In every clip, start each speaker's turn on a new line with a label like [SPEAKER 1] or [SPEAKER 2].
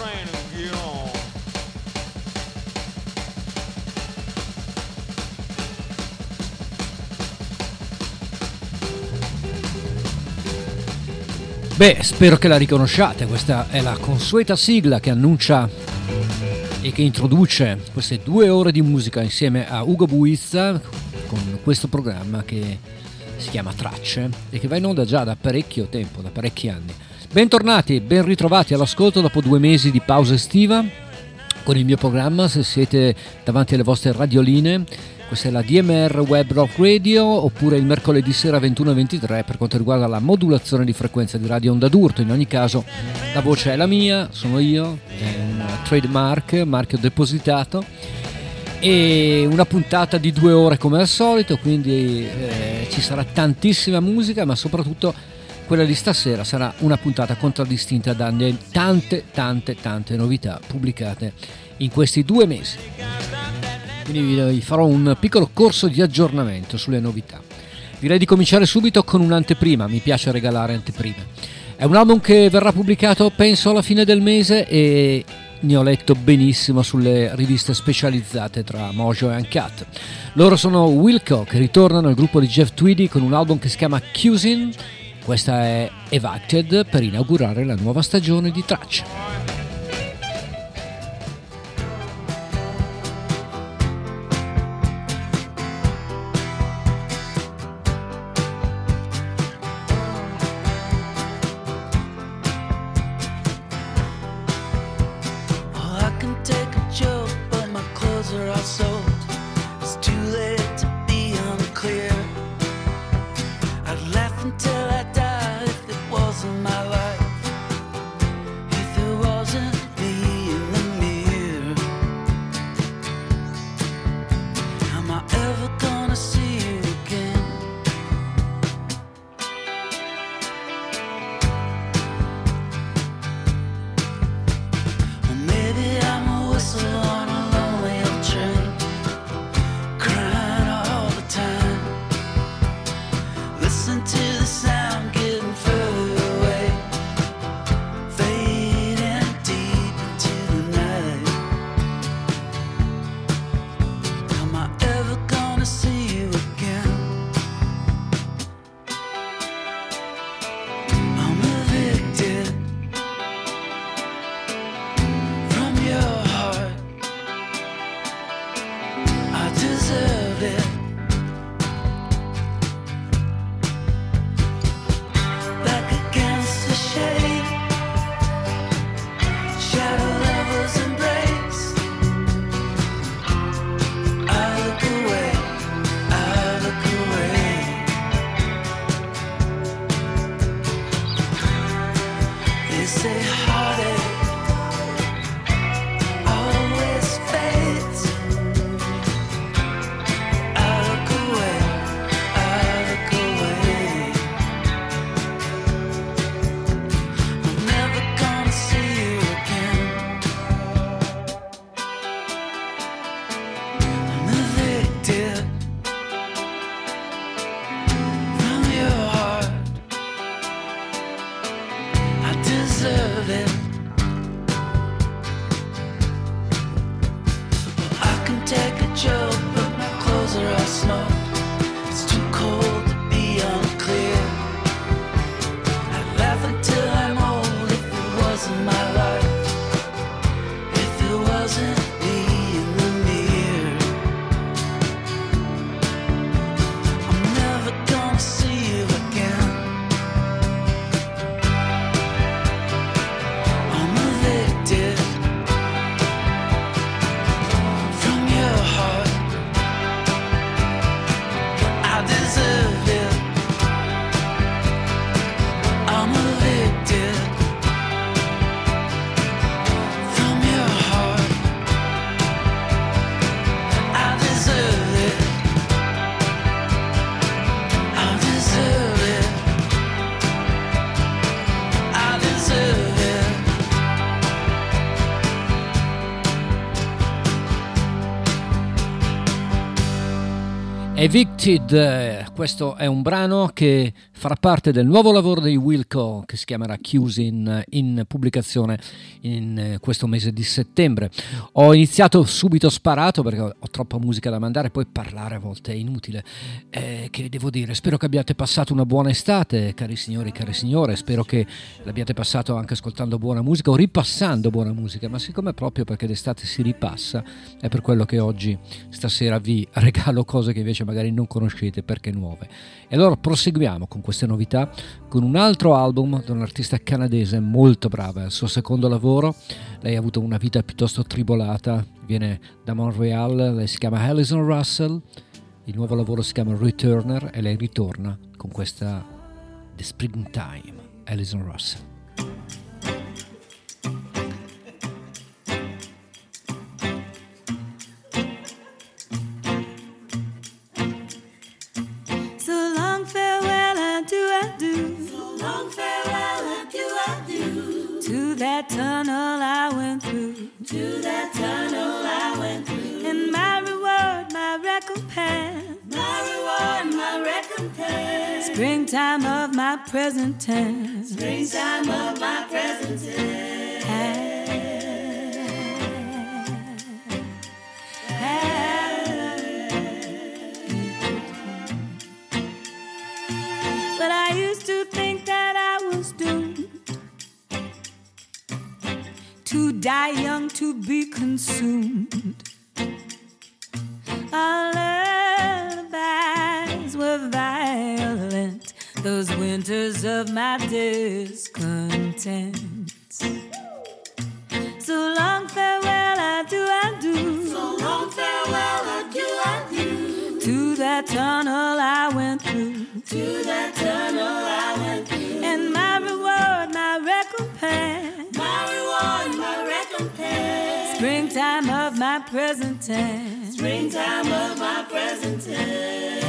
[SPEAKER 1] train and get on.
[SPEAKER 2] Beh, spero che la riconosciate, questa è la consueta sigla che annuncia e che introduce queste 2 ore di musica insieme a Ugo Buizza con questo programma che si chiama Tracce e che va in onda già da parecchio tempo, da parecchi anni. Bentornati, ben ritrovati all'ascolto dopo 2 mesi di pausa estiva con il mio programma, se siete davanti alle vostre radioline. Questa è la DMR Web Rock Radio, oppure il mercoledì sera 21:23 per quanto riguarda la modulazione di frequenza di Radio Onda d'Urto. In ogni caso la voce è la mia, sono io, è un trademark, marchio depositato, e una puntata di 2 ore come al solito, quindi ci sarà tantissima musica, ma soprattutto quella di stasera sarà una puntata contraddistinta da tante novità pubblicate in questi 2 mesi. Quindi vi farò un piccolo corso di aggiornamento sulle novità. Direi di cominciare subito con un'anteprima, mi piace regalare anteprime. È un album che verrà pubblicato penso alla fine del mese e ne ho letto benissimo sulle riviste specializzate tra Mojo e Uncut. Loro sono Wilco, che ritornano al gruppo di Jeff Tweedy con un album che si chiama Cusin. Questa è Evicted per inaugurare la nuova stagione di Tracce. Evicted, questo è un brano che farà parte del nuovo lavoro di Wilco che si chiamerà Chiusi in pubblicazione in questo mese di settembre. Ho iniziato subito sparato perché ho troppa musica da mandare, poi parlare a volte è inutile. Che devo dire, spero che abbiate passato una buona estate, cari signori, care signore, spero che l'abbiate passato anche ascoltando buona musica o ripassando buona musica, ma siccome proprio perché d'estate si ripassa, è per quello che oggi, stasera, vi regalo cose che invece magari non conoscete perché nuove. E allora proseguiamo con queste novità con un altro album di un'artista canadese molto brava, è il suo secondo lavoro. Lei ha avuto una vita piuttosto tribolata, viene da Montreal, lei si chiama Alison Russell, il nuovo lavoro si chiama Returner e lei ritorna con questa The Springtime. Alison Russell.
[SPEAKER 1] That tunnel I went through, to that tunnel I went through, and my reward, my recompense, my reward, my recompense, springtime of my present tense, springtime of my present tense. But I used to think that I was doomed to die young, to be consumed. Our lullabies were violent, those winters of my discontent. So long farewell, adieu, adieu. So long farewell, adieu, adieu. To that tunnel I went through, to that tunnel I went through, and my reward, my recompense, my reward, my recompense, springtime of my present tense, springtime of my present tense.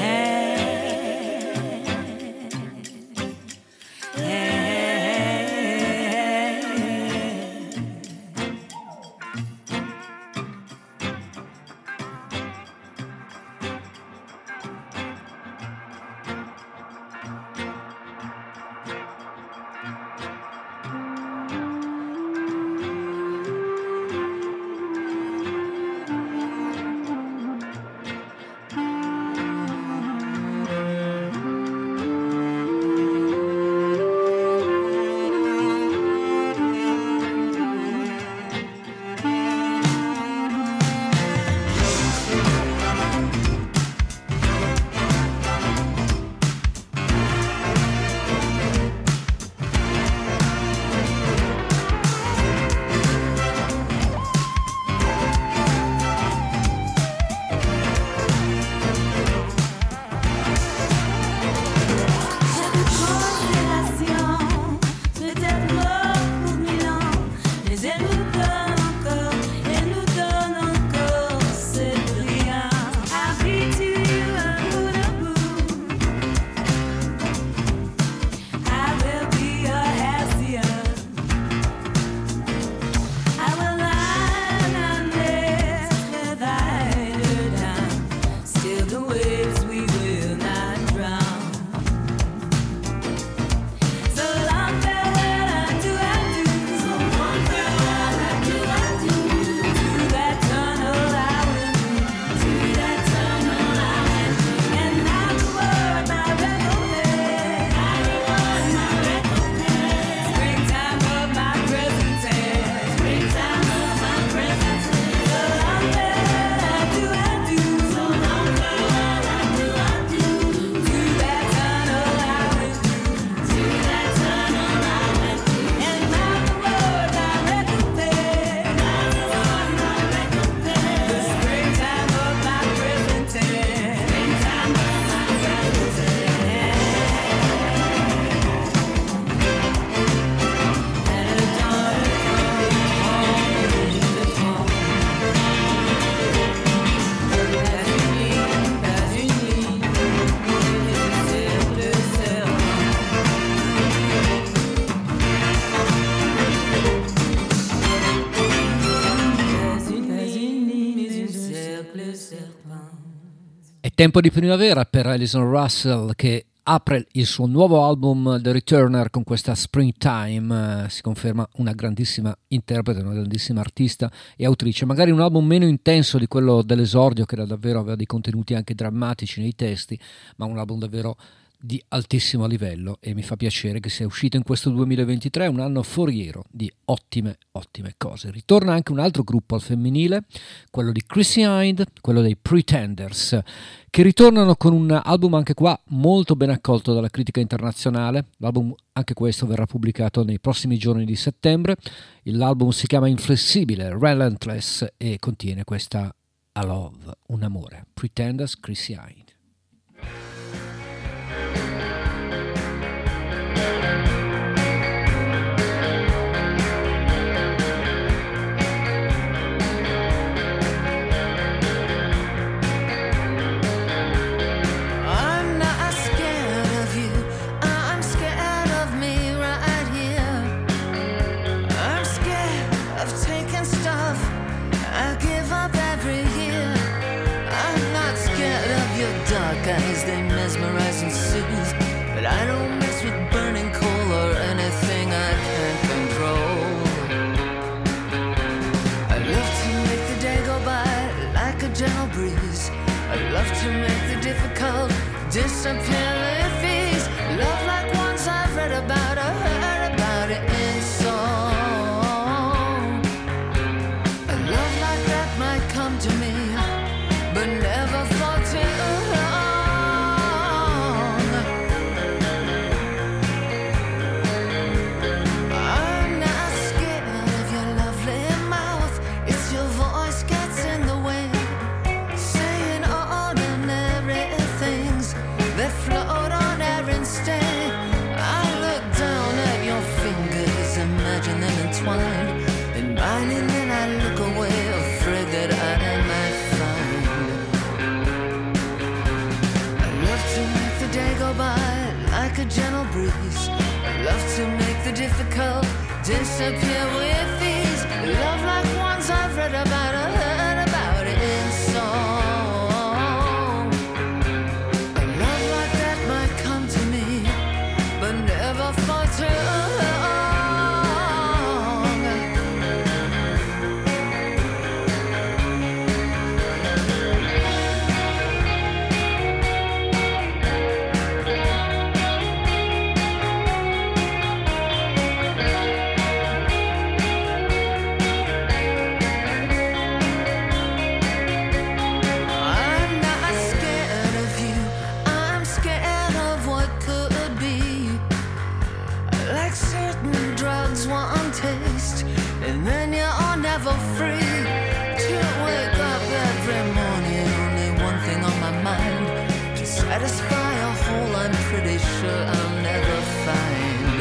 [SPEAKER 2] È tempo di primavera per Alison Russell, che apre il suo nuovo album The Returner con questa Springtime. Si conferma una grandissima interprete, una grandissima artista e autrice. Magari un album meno intenso di quello dell'esordio, che davvero aveva dei contenuti anche drammatici nei testi, ma un album davvero di altissimo livello, e mi fa piacere che sia uscito in questo 2023, un anno foriero di ottime cose. Ritorna anche un altro gruppo al femminile, quello di Chrissy Hynde, quello dei Pretenders, che ritornano con un album anche qua molto ben accolto dalla critica internazionale. L'album, anche questo, verrà pubblicato nei prossimi giorni di settembre. L'album si chiama Inflessibile, Relentless, e contiene questa A Love, un amore. Pretenders, Chrissy Hynde.
[SPEAKER 1] Guys, they mesmerize and soothe, but I don't mess with burning coal or anything I can't control. I love to make the day go by like a gentle breeze. I love to make the difficult disappear with ease. Love like ones I've read about or heard about it in song. A love like that might come to me, but never for too long. And mine, and then I look away, afraid that I might find. I love to make the day go by like a gentle breeze. I love to make the difficult disappear with ease. Love like ones I've read about or heard about it in song. A love like that might come to me, but never for too long. Satisfy a hole I'm pretty sure I'll never find.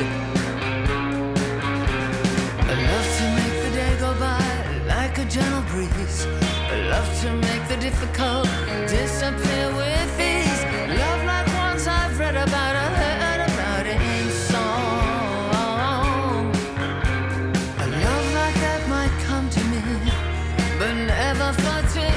[SPEAKER 1] I love to make the day go by like a gentle breeze. I love to make the difficult disappear with ease. Love like ones I've read about or heard about it in song. A love like that might come to me, but never for too long.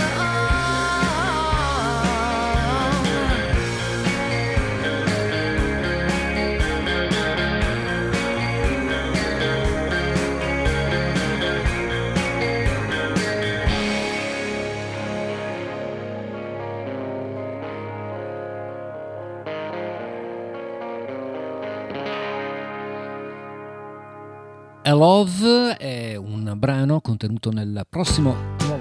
[SPEAKER 2] A Love è un brano contenuto nel prossimo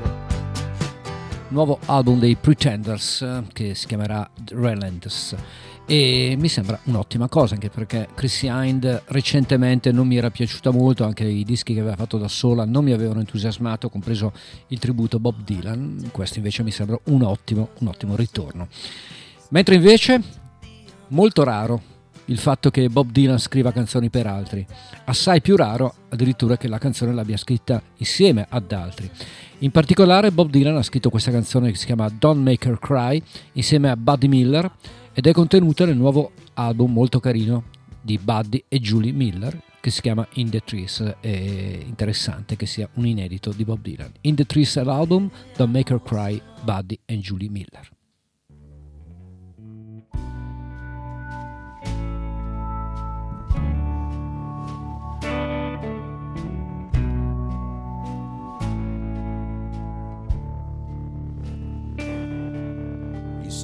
[SPEAKER 2] nuovo album dei Pretenders, che si chiamerà Relentless, e mi sembra un'ottima cosa, anche perché Chrissy Hynde recentemente non mi era piaciuta molto, anche i dischi che aveva fatto da sola non mi avevano entusiasmato, compreso il tributo Bob Dylan. Questo invece mi sembra un ottimo ritorno. Mentre invece molto raro il fatto che Bob Dylan scriva canzoni per altri, assai più raro addirittura che la canzone l'abbia scritta insieme ad altri. In particolare Bob Dylan ha scritto questa canzone che si chiama Don't Make Her Cry insieme a Buddy Miller, ed è contenuta nel nuovo album molto carino di Buddy e Julie Miller che si chiama In the Trees. È interessante che sia un inedito di Bob Dylan. In the Trees è l'album, Don't Make Her Cry, Buddy e Julie Miller.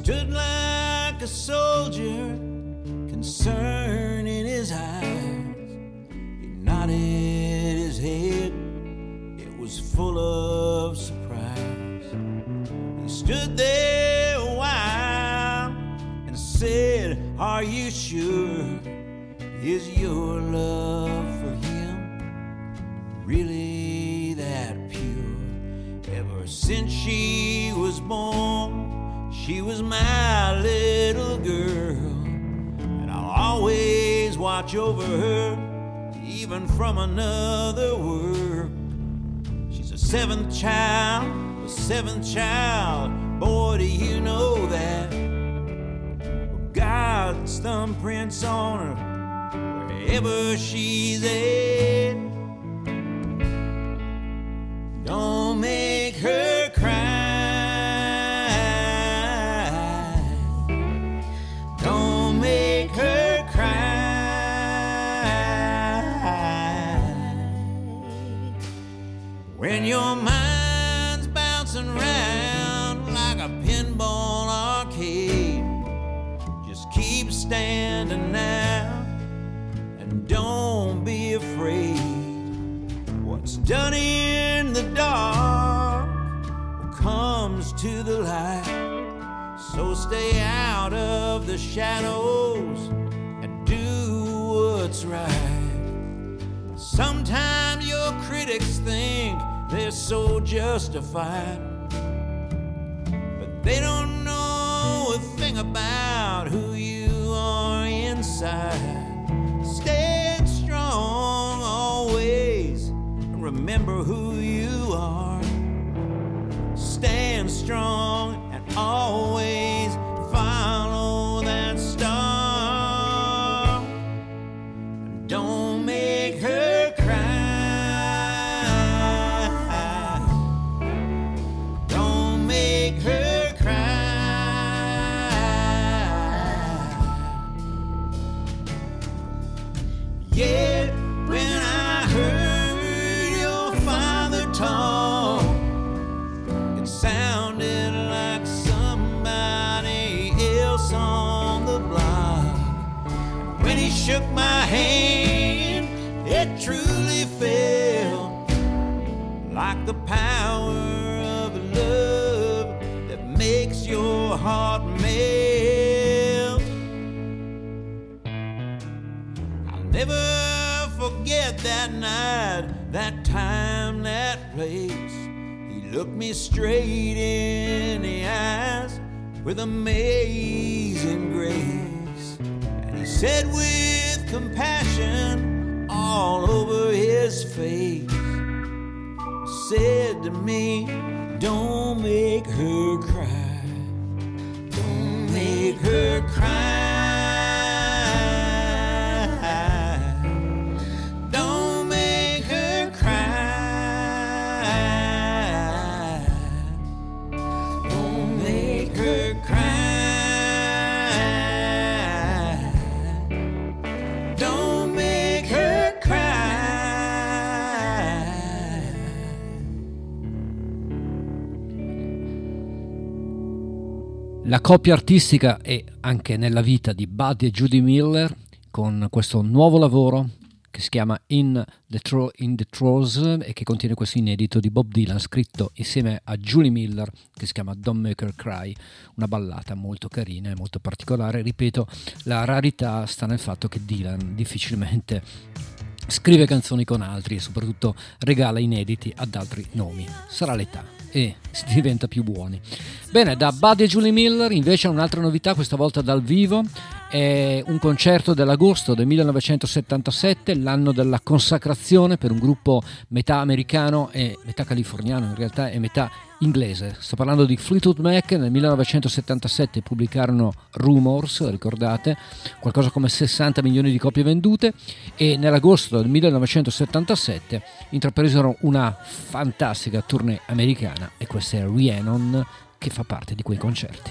[SPEAKER 3] stood like a soldier, concern in his eyes. He nodded his head, it was full of surprise. He stood there a while and said, "Are you sure? Is your love for him really that pure? Ever since she was born, she was my little girl, and I'll always watch over her, even from another world. She's a seventh child, boy, do you know that? God's thumbprints on her, wherever she's at. Don't make her cry. Don't make her cry. When your mind's bouncing around like a pinball arcade, just keep standing now and don't be afraid. What's done in the dark comes to the light, so stay out of the shadows and do what's right. Sometimes your critics think they're so justified, but they don't know a thing about who you are inside. Stand strong always, and remember who you are. Stand strong and always follow that star. And don't make her cry. Don't make her cry. Yeah, when I heard your father talk, it sounded like somebody else on the block. When he shook my hand, it truly felt like the power of love that makes your heart melt. I'll never forget that night, that time, that place. He looked me straight in the eyes with amazing grace, and he said with compassion all over his face, said to me, don't make her cry. Don't make her cry. Don't make her cry. Don't make her cry. Don't make her cry.
[SPEAKER 2] La coppia artistica è anche nella vita di Buddy e Judy Miller, con questo nuovo lavoro che si chiama In the Throes e che contiene questo inedito di Bob Dylan scritto insieme a Judy Miller, che si chiama Don't Make Her Cry, una ballata molto carina e molto particolare. Ripeto, la rarità sta nel fatto che Dylan difficilmente scrive canzoni con altri e soprattutto regala inediti ad altri nomi. Sarà l'età e si diventa più buoni. Bene, da Buddy e Judy Miller invece un'altra novità, questa volta dal vivo. È un concerto dell'agosto del 1977, l'anno della consacrazione per un gruppo metà americano e metà californiano, in realtà è metà inglese. Sto parlando di Fleetwood Mac. Nel 1977 pubblicarono Rumors, ricordate, qualcosa come 60 milioni di copie vendute, e nell'agosto del 1977 intrapresero una fantastica tournée americana, e questa è Rhiannon, che fa parte di quei concerti.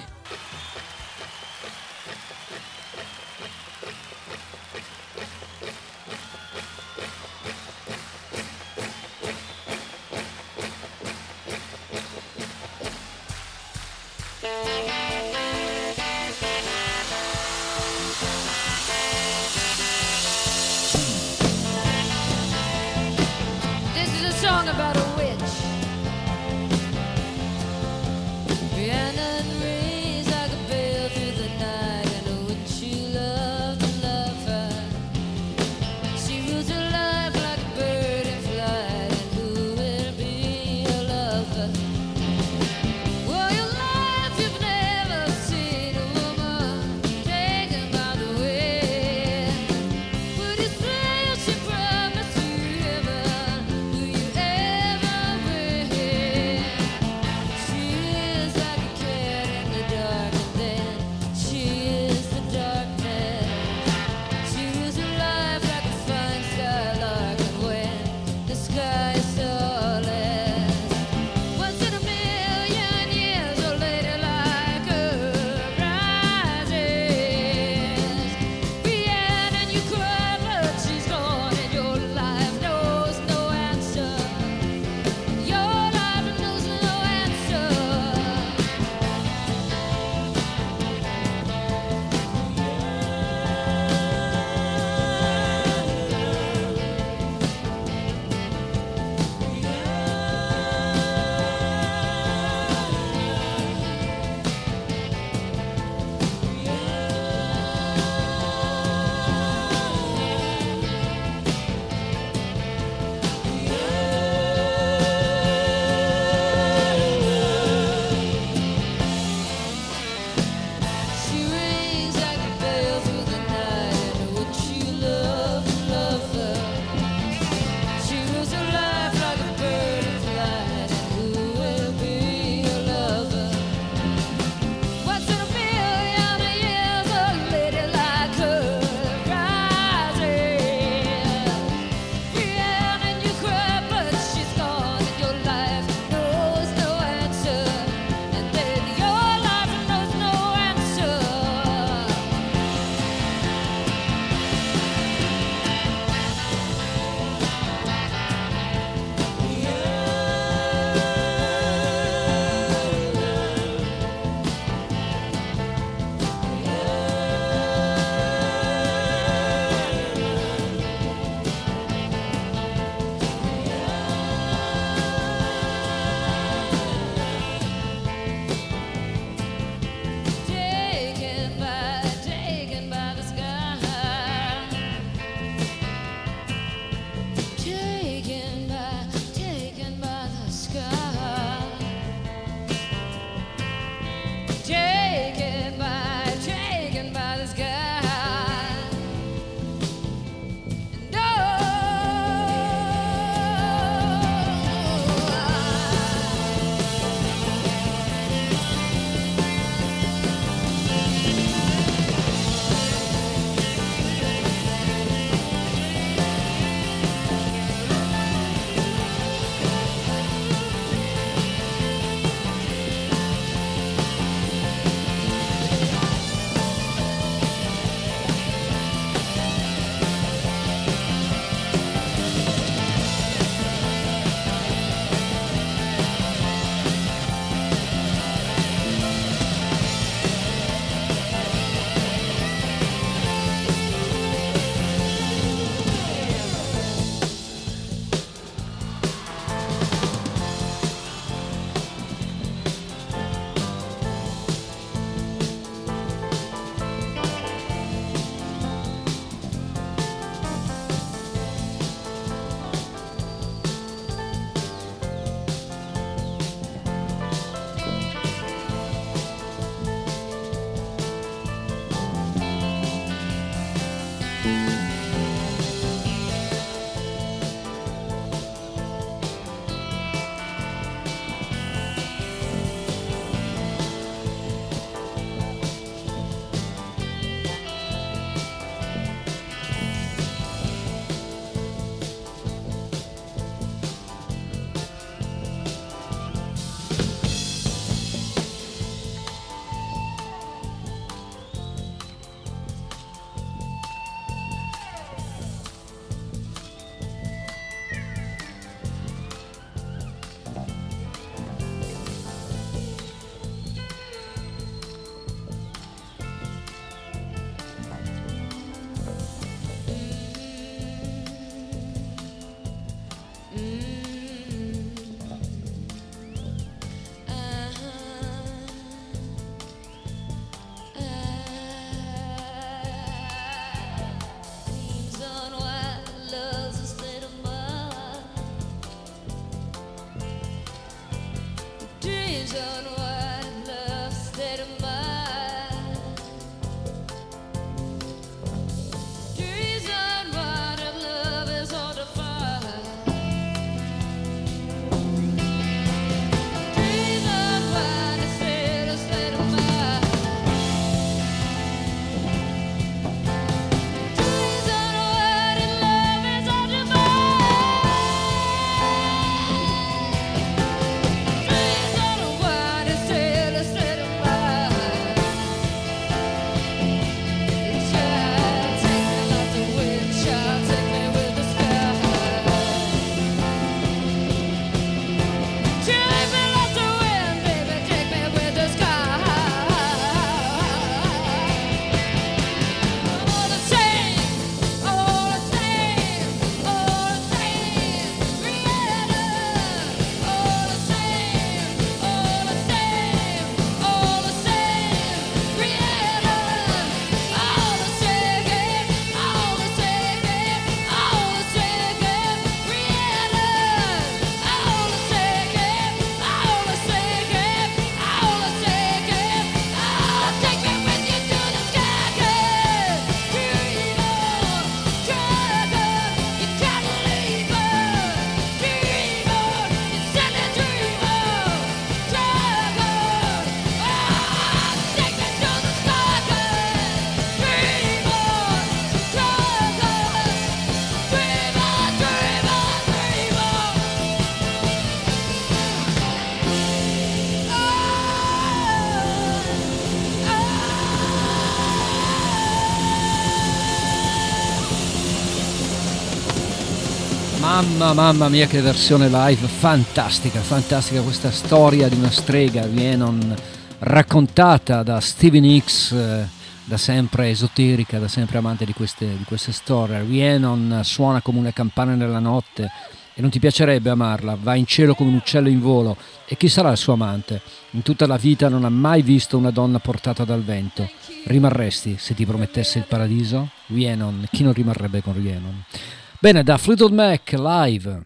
[SPEAKER 2] Mamma mia, che versione live fantastica questa storia di una strega Rhiannon raccontata da Stevie Nicks, da sempre esoterica, da sempre amante di queste storie. Rhiannon suona come una campana nella notte e non ti piacerebbe amarla, va in cielo come un uccello in volo. E chi sarà il suo amante? In tutta la vita non ha mai visto una donna portata dal vento. Rimarresti se ti promettesse il paradiso? Rhiannon, chi non rimarrebbe con Rhiannon? Bene, da Fleetwood Mac live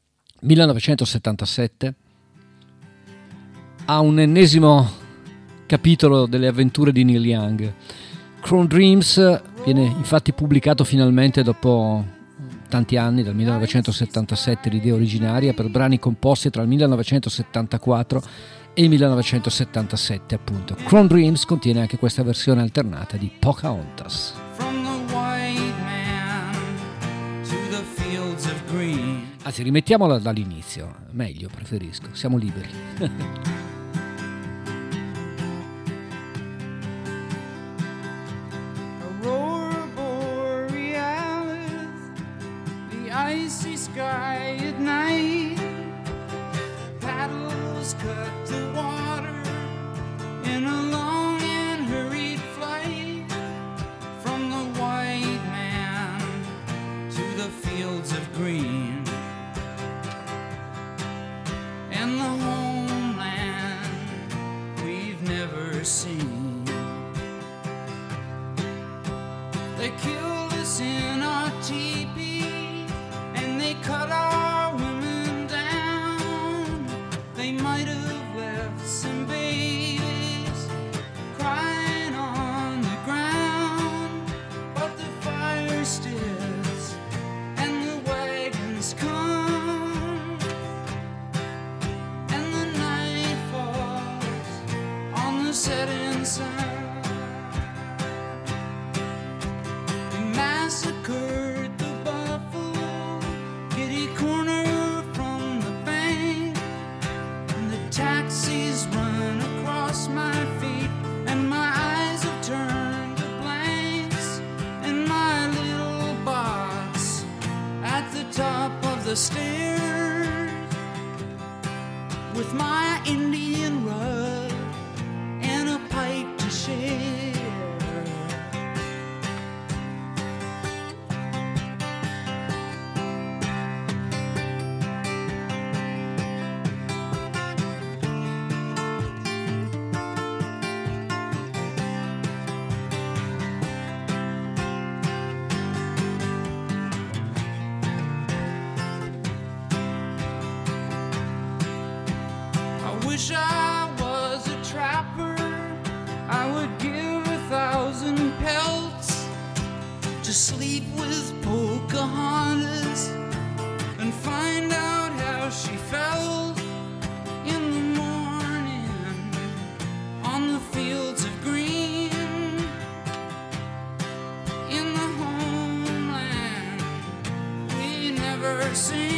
[SPEAKER 2] 1977 a un ennesimo capitolo delle avventure di Neil Young. Chrome Dreams viene infatti pubblicato finalmente dopo tanti anni, dal 1977, l'idea originaria per brani composti tra il 1974 e il 1977 appunto. Chrome Dreams contiene anche questa versione alternata di Pocahontas. Anzi, rimettiamola dall'inizio, meglio, preferisco, siamo liberi.
[SPEAKER 1] Aurora borealis, the icy sky at night, paddles cut the water in a long and hurried flight, from the white man to the fields of green. And the homeland we've never seen. They killed us in our teepee, and they cut our women down. They might have left some babies crying on the ground, but the fire stills and the wagons come. Setting sun, we massacred the buffalo, kitty corner from the bank, and the taxis run across my feet, and my eyes have turned to blanks, and my little box at the top of the stairs, with my Indian rug pipe to share. I wish I was a trapper, I would give 1,000 pelts to sleep with Pocahontas and find out how she felt in the morning on the fields of green, in the homeland we never seen.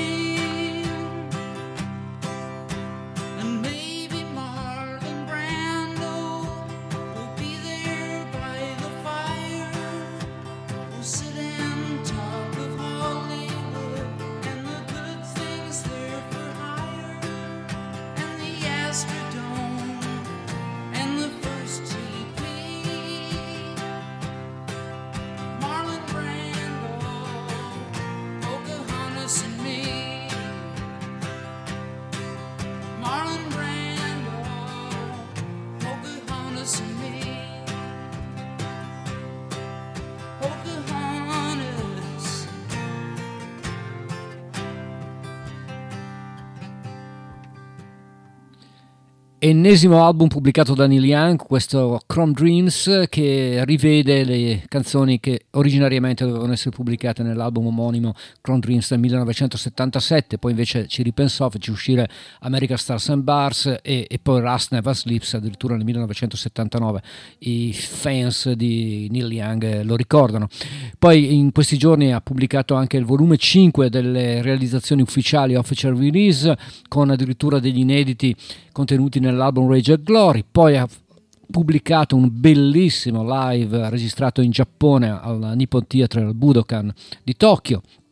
[SPEAKER 2] Ennesimo album pubblicato da Neil Young, questo Chrome Dreams, che rivede le canzoni che originariamente dovevano essere pubblicate nell'album omonimo Chrome Dreams del 1977, poi invece ci ripensò, fece uscire American Stars and Bars e poi Rust Never Sleeps addirittura nel 1979. I fans di Neil Young lo ricordano. Poi in questi giorni ha pubblicato anche il volume 5 delle realizzazioni ufficiali Official Release, con addirittura degli inediti contenuti nell'album Rage and Glory. Poi ha pubblicato un bellissimo live registrato in Giappone al Nippon Theatre al Budokan di Tokyo,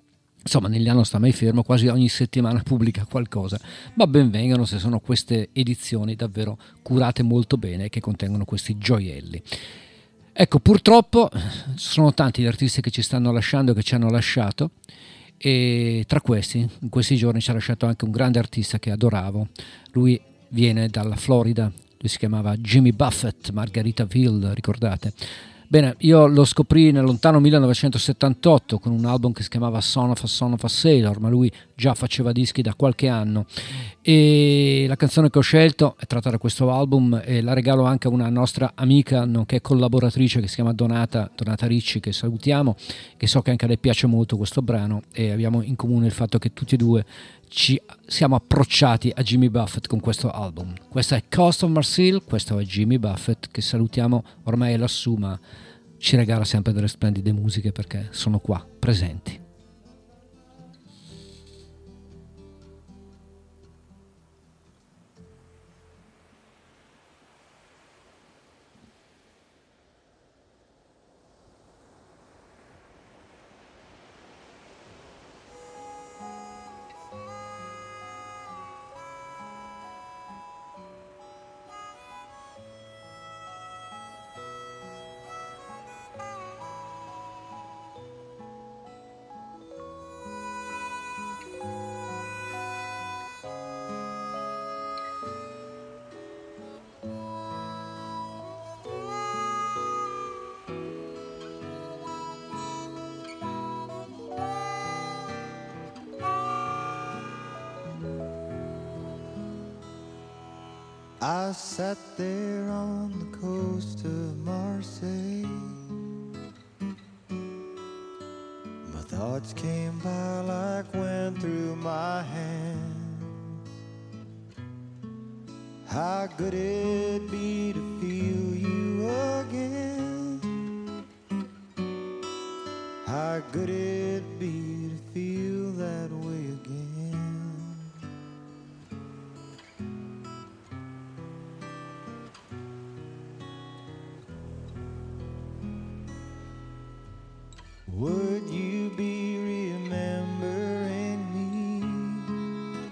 [SPEAKER 2] Insomma, Neil non sta mai fermo, quasi ogni settimana pubblica qualcosa, ma ben vengano se sono queste edizioni davvero curate molto bene che contengono questi gioielli. Ecco, purtroppo sono tanti gli artisti che ci stanno lasciando, che ci hanno lasciato, e tra questi, in questi giorni ci ha lasciato anche un grande artista che adoravo. Lui viene dalla Florida, lui si chiamava Jimmy Buffett, Margaritaville, ricordate? Bene, io lo scoprì nel lontano 1978 con un album che si chiamava Son of a Sailor, ma lui già faceva dischi da qualche anno, e la canzone che ho scelto è tratta da questo album e la regalo anche a una nostra amica nonché collaboratrice che si chiama Donata Ricci, che salutiamo, che so che anche a lei piace molto questo brano, e abbiamo in comune il fatto che tutti e due ci siamo approcciati a Jimmy Buffett con questo album. Questa è Coast of Marseille, questo è Jimmy Buffett, che salutiamo, ormai è lassù ma ci regala sempre delle splendide musiche perché sono qua presenti.
[SPEAKER 4] I sat there on the coast of Marseille. My thoughts came by like wind through my hands. How good it'd be to feel you again. How good it'd be to feel that way again. Would you be remembering me?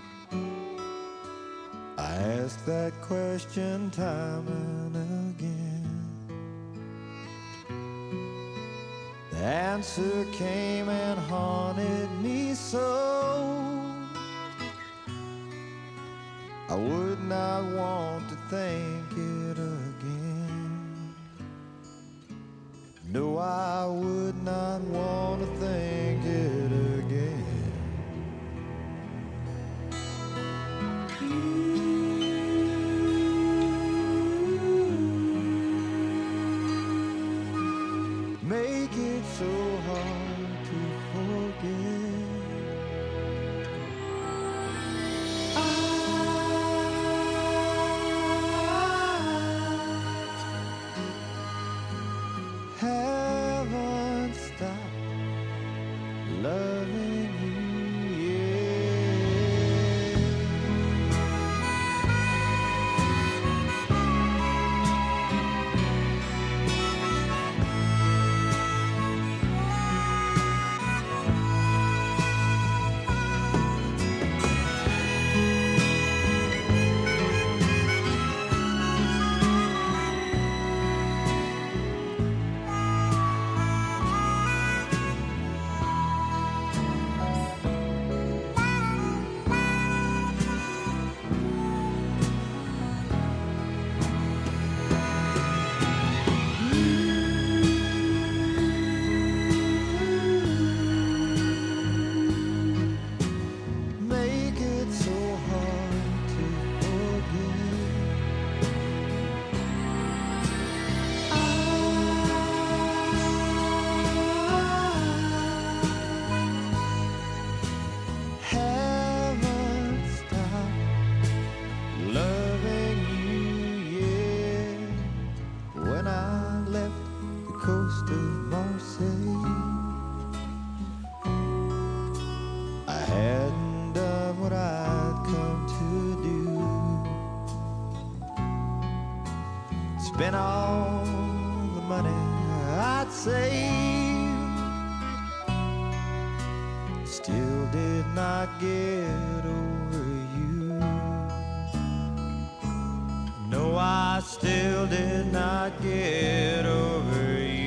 [SPEAKER 4] I ask that question time and again. The answer came and haunted me so. I would not want to think it again. No, I would not want to think it again. Make it so hard to forget. Haven't stopped loving you yet. Make it so hard to forget. Haven't stopped loving you yet. When I left the coast of Marseille, I hadn't done what I'd come to do. Spent all the money I'd saved. still did not get over you. No, I still did not get over you.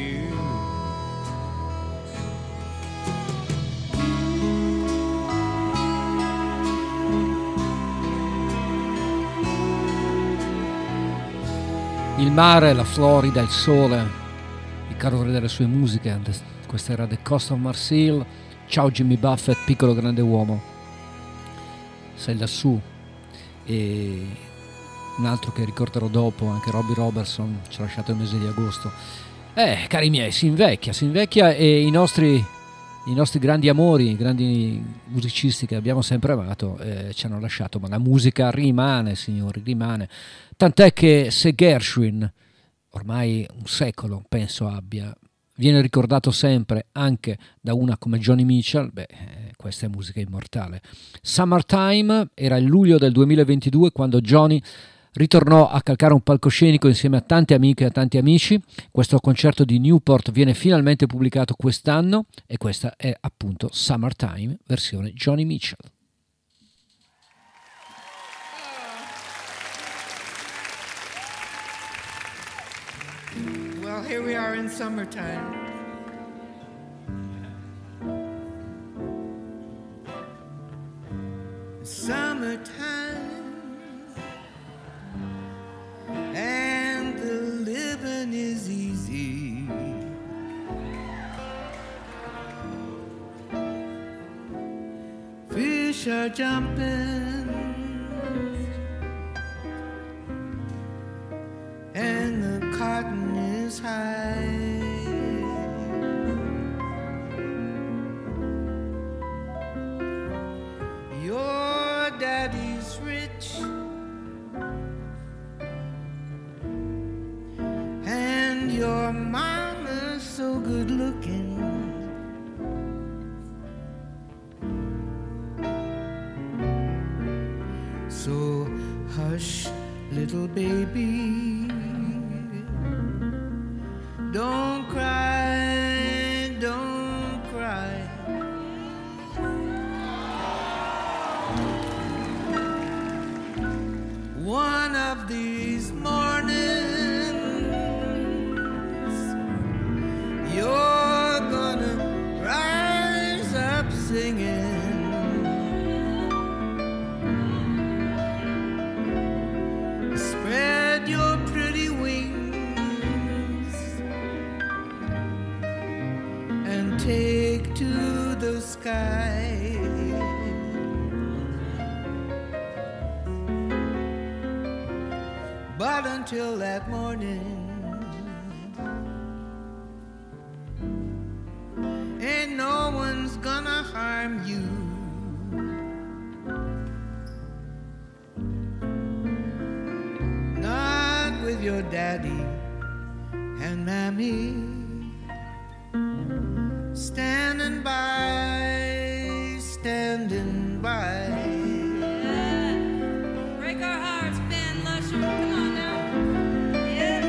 [SPEAKER 2] Il mare, la Florida, il sole, il calore delle sue musiche. Questa era The Coast of Marseille. Ciao Jimmy Buffett, piccolo grande uomo. Sei lassù. E un altro che ricorderò dopo, anche Robbie Robertson, ci ha lasciato il mese di agosto. Cari miei, si invecchia e i nostri grandi amori, i grandi musicisti che abbiamo sempre amato ci hanno lasciato, ma la musica rimane, signori, rimane. Tant'è che se Gershwin, ormai un secolo penso abbia, viene ricordato sempre anche da una come Joni Mitchell, questa è musica immortale. Summertime era il luglio del 2022 quando Joni ritornò a calcare un palcoscenico insieme a tante amiche e a tanti amici. Questo concerto di Newport viene finalmente pubblicato quest'anno e questa è appunto Summertime, versione Joni Mitchell.
[SPEAKER 5] Well, here we are in summertime. Summertime, and the living is easy. Fish are jumping, and the cotton is high. Your daddy's rich, and your mama's so good looking. So hush, little baby, don't cry, don't cry. One of these mornings you're gonna rise up singing. Spread your pretty wings and take to the sky. But until that morning, ain't no one's gonna harm you. Not with your daddy and mammy standing by, standing by.
[SPEAKER 1] Break our hearts, Ben Lusher. Come on now. Yeah.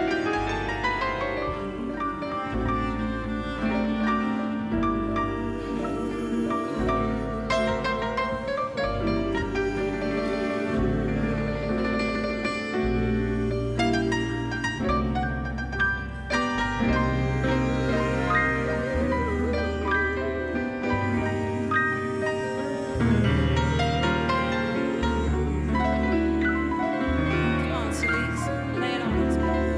[SPEAKER 1] Come on, sweets. Lay it on us.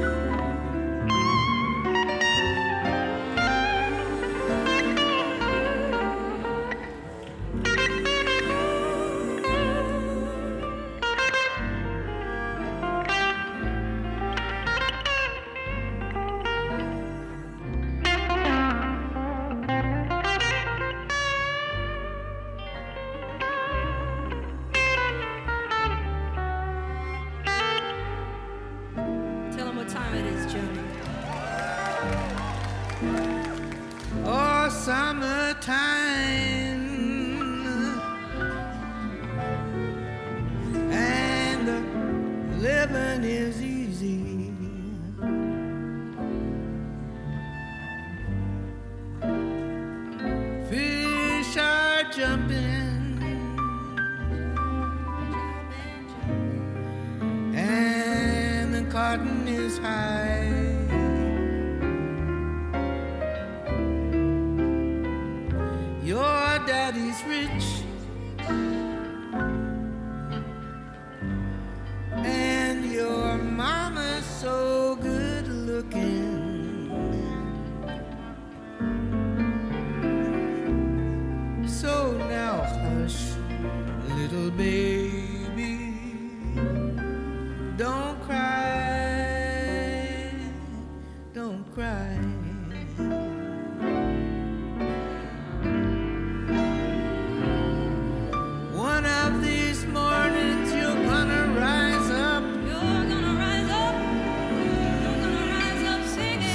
[SPEAKER 1] Tell them what time it is, Joni.
[SPEAKER 5] Oh, summertime, and the living is easy. Fish are jumping, and the cotton is high. Your daddy's rich, and your mama's so good looking. So now hush, little baby, don't cry, don't cry. One of these mornings you're gonna rise up.
[SPEAKER 1] You're gonna rise up. You're gonna rise up singing.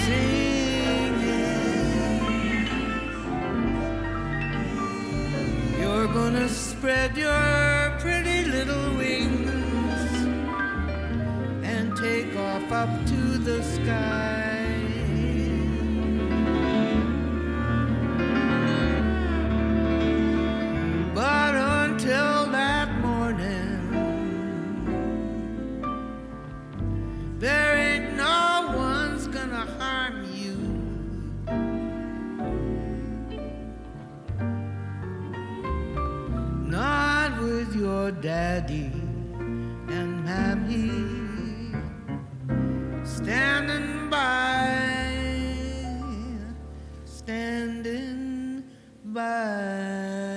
[SPEAKER 5] You're gonna spread your pretty little wings and take off up to the sky. But until that morning, there ain't no one's gonna harm you. Not with your daddy and mammy standing by, standing by.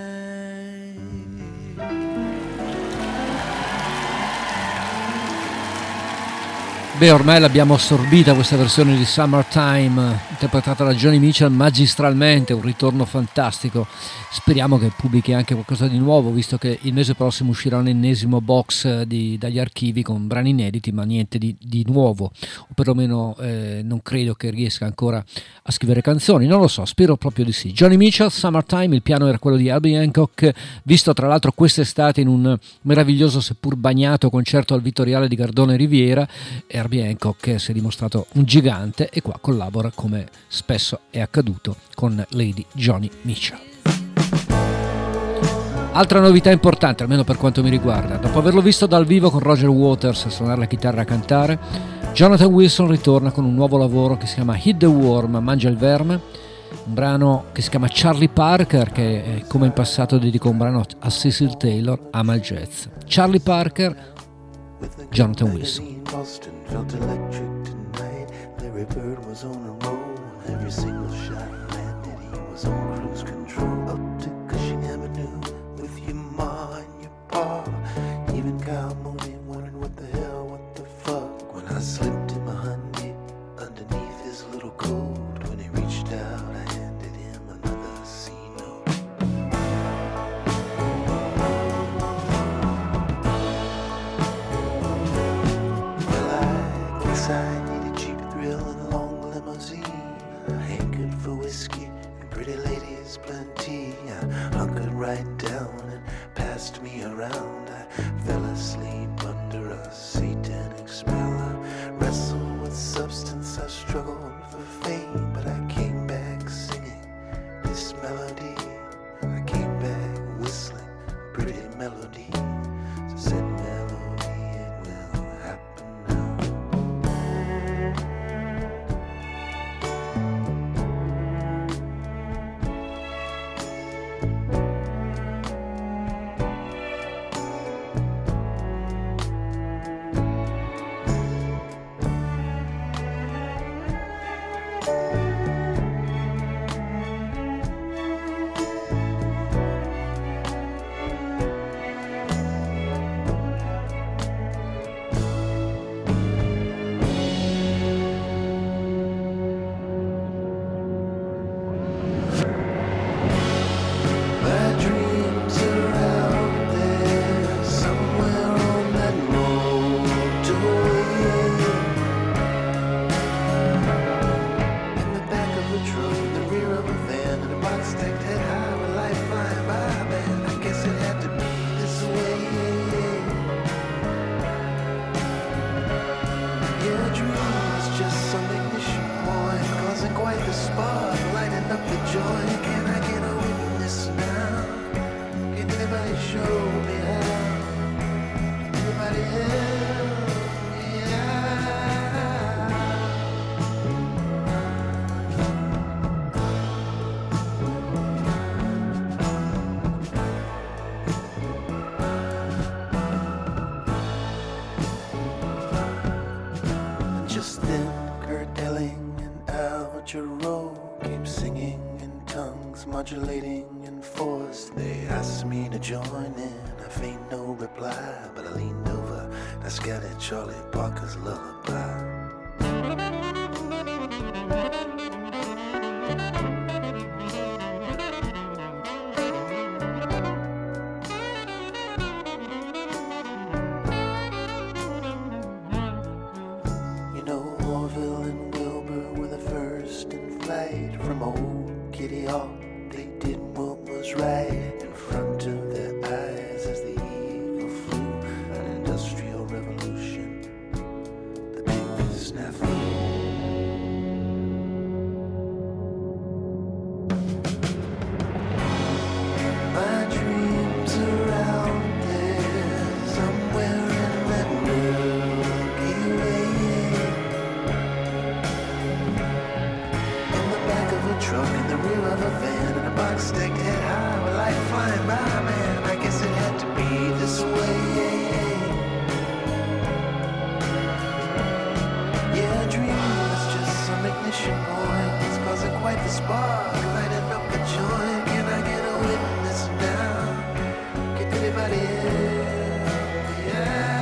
[SPEAKER 2] Beh, ormai l'abbiamo assorbita questa versione di Summertime, interpretata da Joni Mitchell magistralmente, un ritorno fantastico. Speriamo che pubblichi anche qualcosa di nuovo, visto che il mese prossimo uscirà un ennesimo box dagli archivi con brani inediti, ma niente di nuovo, o perlomeno non credo che riesca ancora a scrivere canzoni, non lo so, spero proprio di sì. Joni Mitchell, Summertime, il piano era quello di Herbie Hancock, visto tra l'altro quest'estate in un meraviglioso seppur bagnato concerto al Vittoriale di Gardone Riviera. Herbie Hancock si è dimostrato un gigante e qua collabora, come spesso è accaduto, con Lady Joni Mitchell. Altra novità importante, almeno per quanto mi riguarda, dopo averlo visto dal vivo con Roger Waters a suonare la chitarra e a cantare, Jonathan Wilson ritorna con un nuovo lavoro che si chiama Hit the Worm, Mangia il verme, un brano che si chiama Charlie Parker, che come in passato dedicò un brano a Cecil Taylor, ama il jazz. Charlie Parker, Jonathan Wilson.
[SPEAKER 6] Boston felt electric tonight. Larry Bird was on a roll. Every single shot landed, he was on cruise control. Up to Cushing Avenue with your ma and your pa. Even Kyle Mooney wondered what the hell, what the fuck. When I slipped in my Hyundai underneath his little coat. When he reached out, I handed him another C note. I need a cheap thrill and a long limousine. I ain't good for whiskey and pretty ladies plenty. I hunkered right down and passed me around. I fell asleep under a satanic spell. I wrestled with substance, I struggled for fame, but I came back singing this melody. I came back whistling pretty melody. So said melody, it will happen now. thin, Kurt Elling and Al Jarreau came singing in tongues, modulating in force. They asked me to join in. I feigned no reply, but I leaned over and I scattered Charlie Parker's lullaby. From old Kitty Hawk, they did what was right in front of their eyes as the eagle flew. An industrial revolution, the big snafu. My dreams are out there somewhere in that Milky Way. Truck in the rear of a van and a box stacked head high with light flying by, man. I guess it had to be this way. Yeah, a dream was just some ignition point. It's causing quite the spark, lighting up the joint. Can I get a witness now? Can anybody hear? Yeah.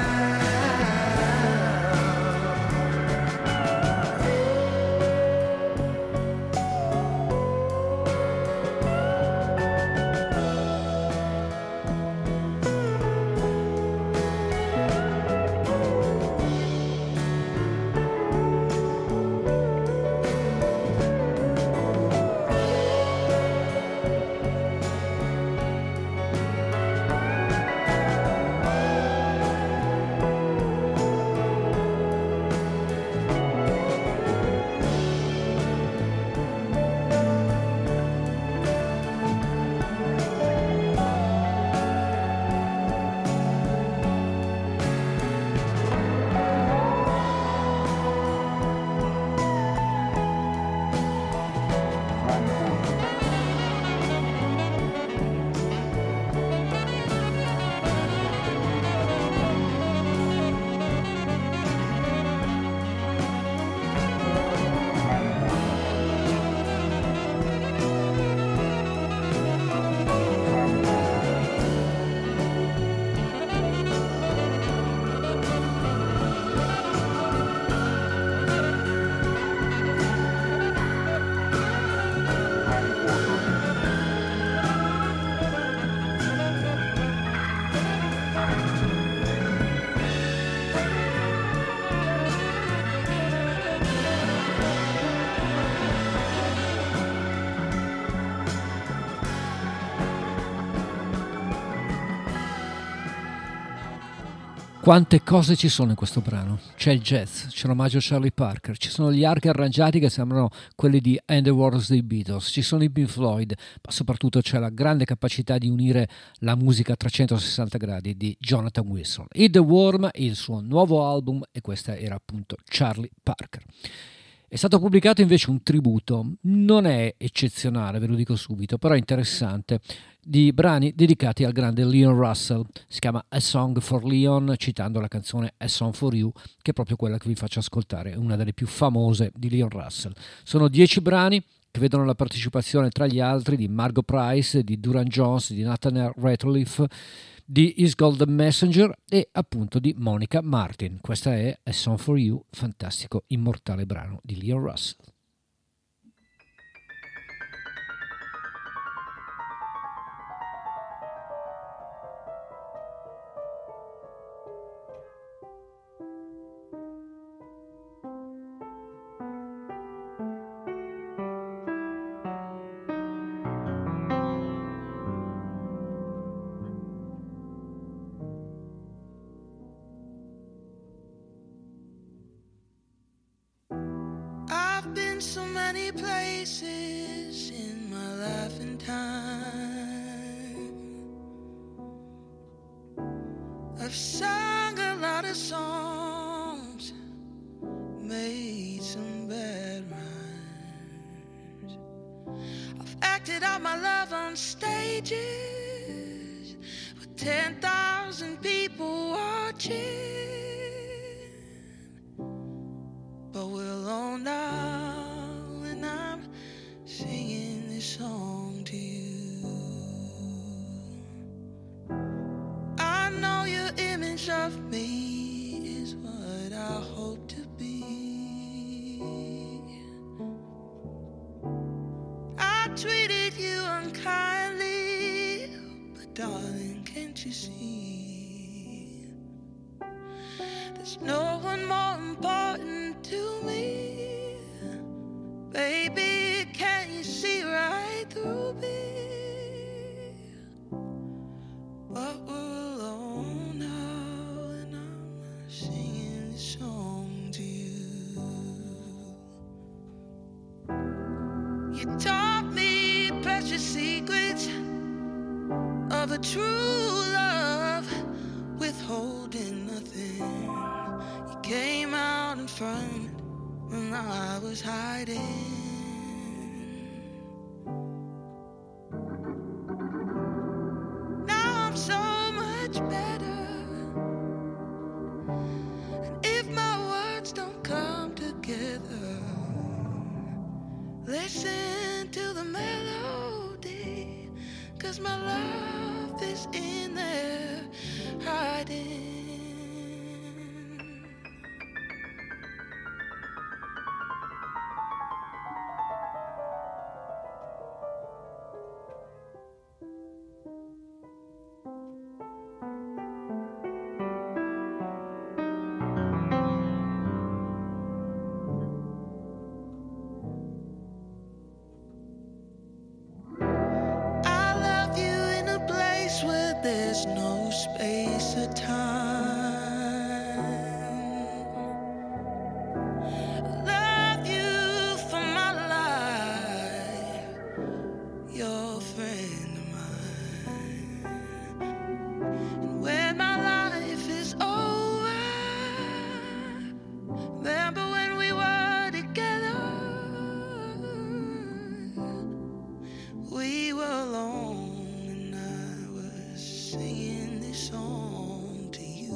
[SPEAKER 2] Quante cose ci sono in questo brano? C'è il jazz, c'è l'omaggio a Charlie Parker, ci sono gli archi arrangiati che sembrano quelli di And the Wars dei Beatles, ci sono i Pink Floyd, ma soprattutto c'è la grande capacità di unire la musica a 360 gradi di Jonathan Wilson. Hit the Worm, il suo nuovo album, e questa era appunto Charlie Parker. È stato pubblicato invece un tributo, non è eccezionale, ve lo dico subito, però è interessante, di brani dedicati al grande Leon Russell. Si chiama A Song for Leon, citando la canzone A Song for You, che è proprio quella che vi faccio ascoltare, una delle più famose di Leon Russell. Sono 10 brani che vedono la partecipazione tra gli altri di Margot Price, di Duran Jones, di Nathaniel Rateliff, di Is Golden Messenger e appunto di Monica Martin. Questa è A Song for You, fantastico, immortale brano di Leon Russell.
[SPEAKER 5] So many places in my life and time. I've sung a lot of songs, made some bad rhymes. I've acted out my love on stages with 10,000 people watching. But we're alone now, and I'm singing this song to you. I know your image of me is what I hope to be. I treated you unkindly, but darling, can't you see? There's no one more important to me. Baby, can't you see right through me? But we're alone now, and I'm singing this song to you. You taught me precious secrets of a true love, withholding nothing. You came out in front when I was hiding. Now I'm so much better, and if my words don't come together, listen to the melody, 'cause my love is in there hiding. There's no space or time. I love you for my life, you're a friend of mine. And when my life is over, remember when we were together? We were alone, singing this song to you.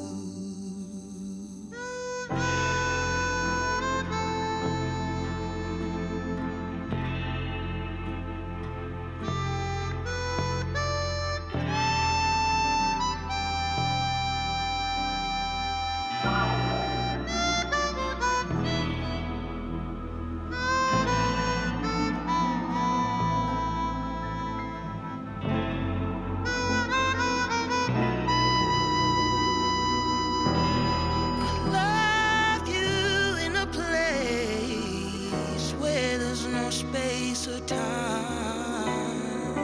[SPEAKER 5] Space or time.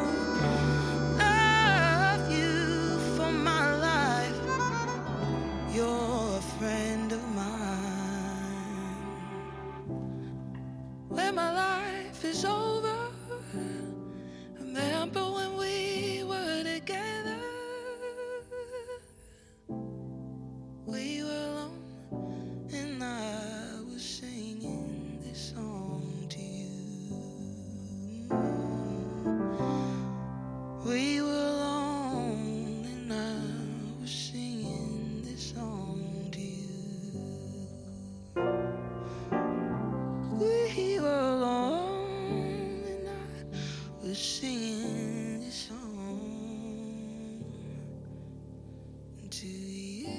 [SPEAKER 5] Love you for my life, you're a friend of mine. When my life is over, remember when we were together? We were alone, and I was singing this song to you. We were alone, and I was singing this song to you. We were alone, and I was singing this song to you.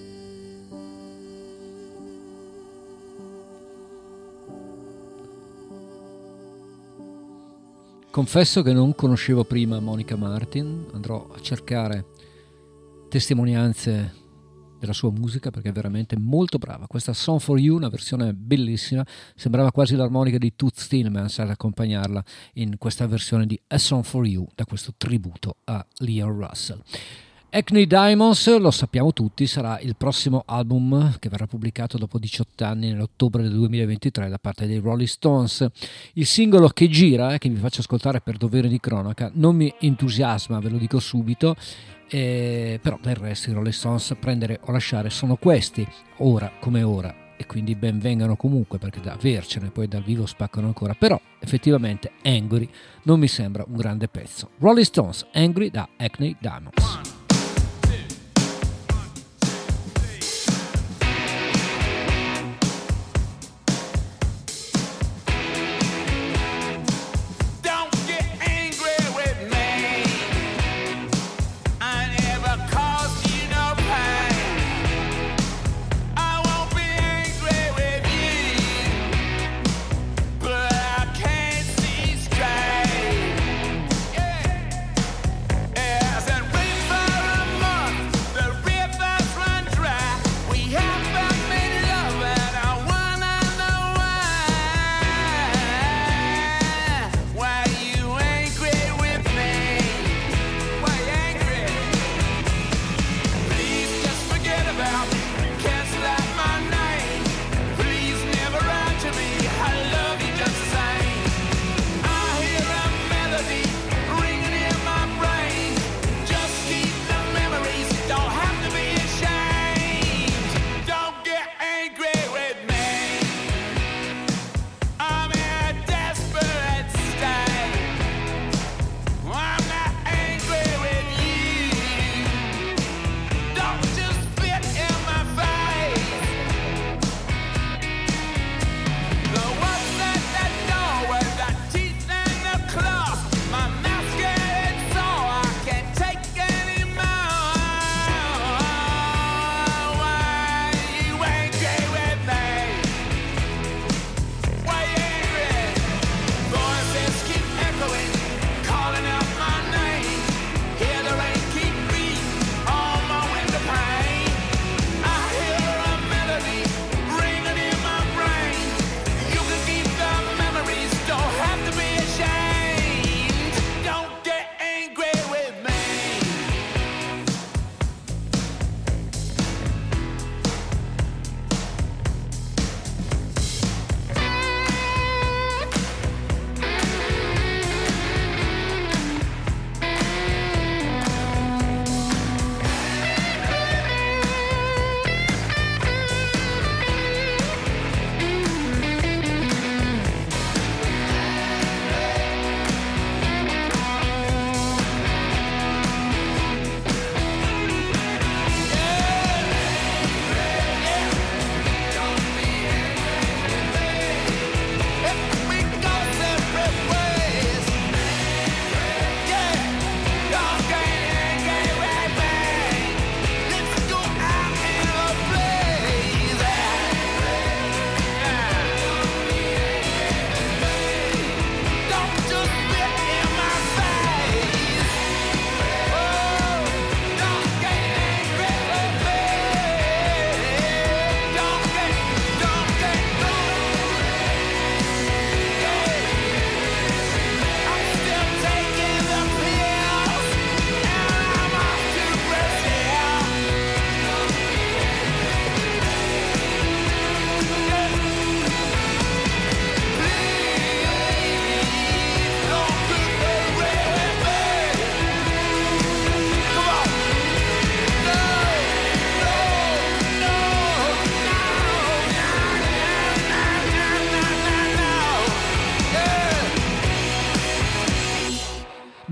[SPEAKER 2] Confesso che non conoscevo prima Monica Martin, andrò a cercare testimonianze della sua musica perché è veramente molto brava. Questa Song for You, una versione bellissima, sembrava quasi l'armonica di Toots Thielemans ad accompagnarla in questa versione di A Song for You, da questo tributo a Leon Russell. Hackney Diamonds, lo sappiamo tutti, sarà il prossimo album che verrà pubblicato dopo 18 anni nell'ottobre del 2023 da parte dei Rolling Stones. Il singolo che gira, che vi faccio ascoltare per dovere di cronaca, non mi entusiasma, ve lo dico subito, però del resto i Rolling Stones, prendere o lasciare, sono questi, ora come ora, e quindi ben vengano comunque, perché da avercene poi dal vivo spaccano ancora, però effettivamente Angry non mi sembra un grande pezzo. Rolling Stones, Angry da Hackney Diamonds.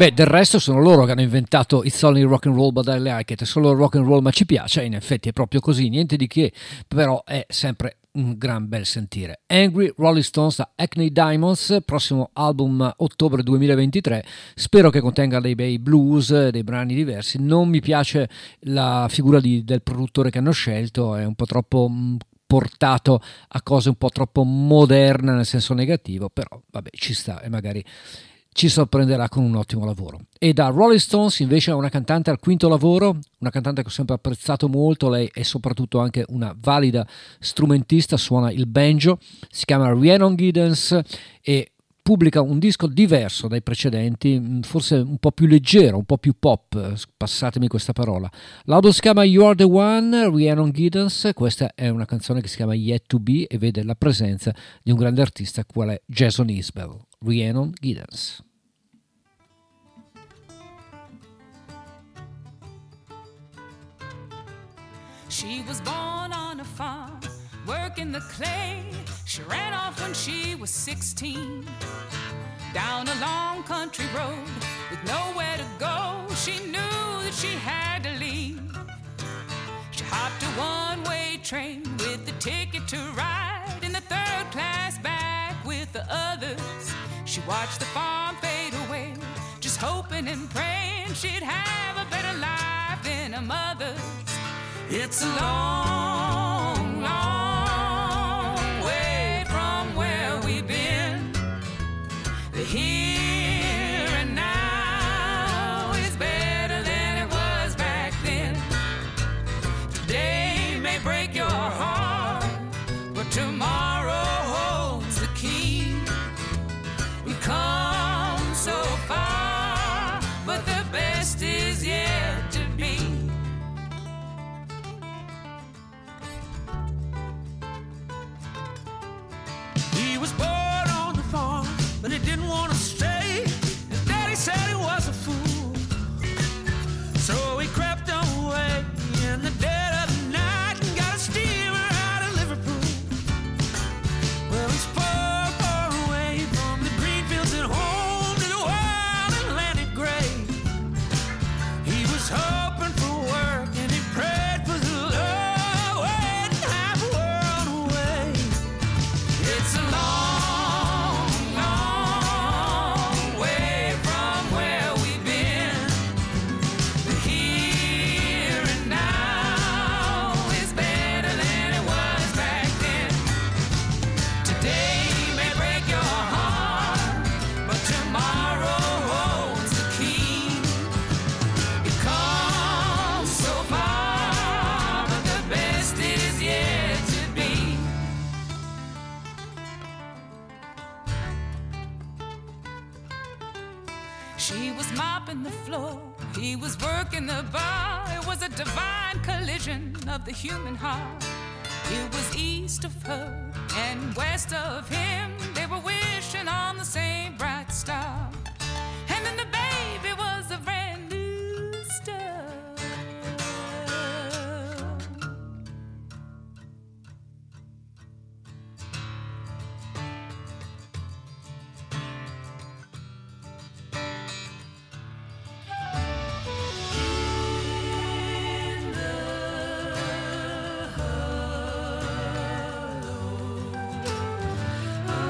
[SPEAKER 2] Beh, del resto sono loro che hanno inventato It's Only Rock and Roll but I Like It, è solo rock and roll ma ci piace, in effetti è proprio così, niente di che, però è sempre un gran bel sentire. Angry Rolling Stones da Hackney Diamonds, prossimo album ottobre 2023, spero che contenga dei bei blues, dei brani diversi. Non mi piace la figura del produttore che hanno scelto, è un po' troppo portato a cose un po' troppo moderne nel senso negativo, però vabbè, ci sta e magari ci sorprenderà con un ottimo lavoro. E da Rolling Stones invece è una cantante al quinto lavoro, una cantante che ho sempre apprezzato molto, lei è soprattutto anche una valida strumentista, suona il banjo, si chiama Rhiannon Giddens e pubblica un disco diverso dai precedenti, forse un po' più leggero, un po' più pop, passatemi questa parola. L'album si chiama You Are The One, Rhiannon Giddens, questa è una canzone che si chiama Yet To Be e vede la presenza di un grande artista qual è Jason Isbell. Rhiannon Giddens.
[SPEAKER 1] She was born on a farm, working the clay. She ran off when she was 16, down a long country road with nowhere to go. She knew that she had to leave. She hopped a one-way train with the ticket to ride in the third class back with the others. She watched the farm fade away, just hoping and praying she'd have a better life than her mother's. It's a long, long way from where we've been. The here and now is better than it was back then. Today may break your heart, but tomorrow holds the key. We've come so far, but the best is yet to be.
[SPEAKER 5] He was born on the farm, but he didn't want to stay. His daddy said he was a fool, so he crept away in the dead of the night and got a steamer out of Liverpool. Well, he's far, far away from the green fields at home to the wild Atlantic gray. He was hoping for work and he prayed for the love, waiting half a world away. It's a long, long way from where we've been. The here and now is better than it was back then. Today may break your heart, but tomorrow holds the key. You've come so far, but the best is yet to be. She was mopping the floor, he was working the bar. It was a divine collision of the human heart. It was east of her and west of him. They were wishing on the same bright star. And then the baby was a brand new star. In the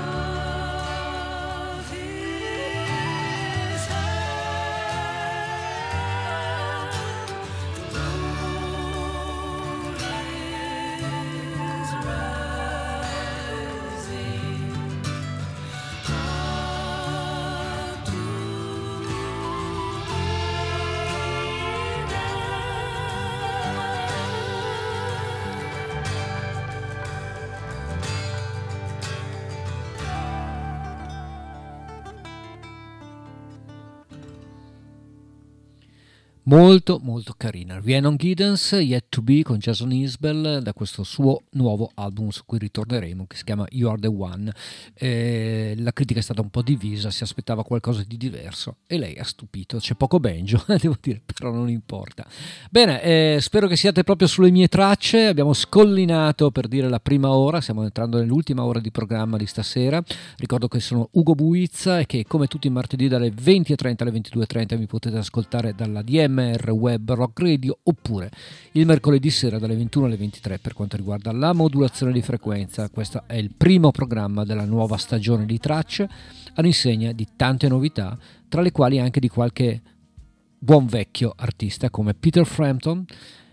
[SPEAKER 2] molto molto carina. Rhiannon Giddens, Yet to Be con Jason Isbell, da questo suo nuovo album su cui ritorneremo, che si chiama You Are the One. La critica è stata un po' divisa, si aspettava qualcosa di diverso e lei ha stupito. C'è poco banjo, devo dire, però non importa. Bene, spero che siate proprio sulle mie tracce. Abbiamo scollinato per dire la prima ora, stiamo entrando nell'ultima ora di programma di stasera. Ricordo che sono Ugo Buizza e che come tutti i martedì dalle 20:30 alle 22:30 mi potete ascoltare dalla DMR Web Rock Radio, oppure il mercoledì sera dalle 21 alle 23 per quanto riguarda la modulazione di frequenza. Questo è il primo programma della nuova stagione di tracce all'insegna di tante novità, tra le quali anche di qualche buon vecchio artista come Peter Frampton.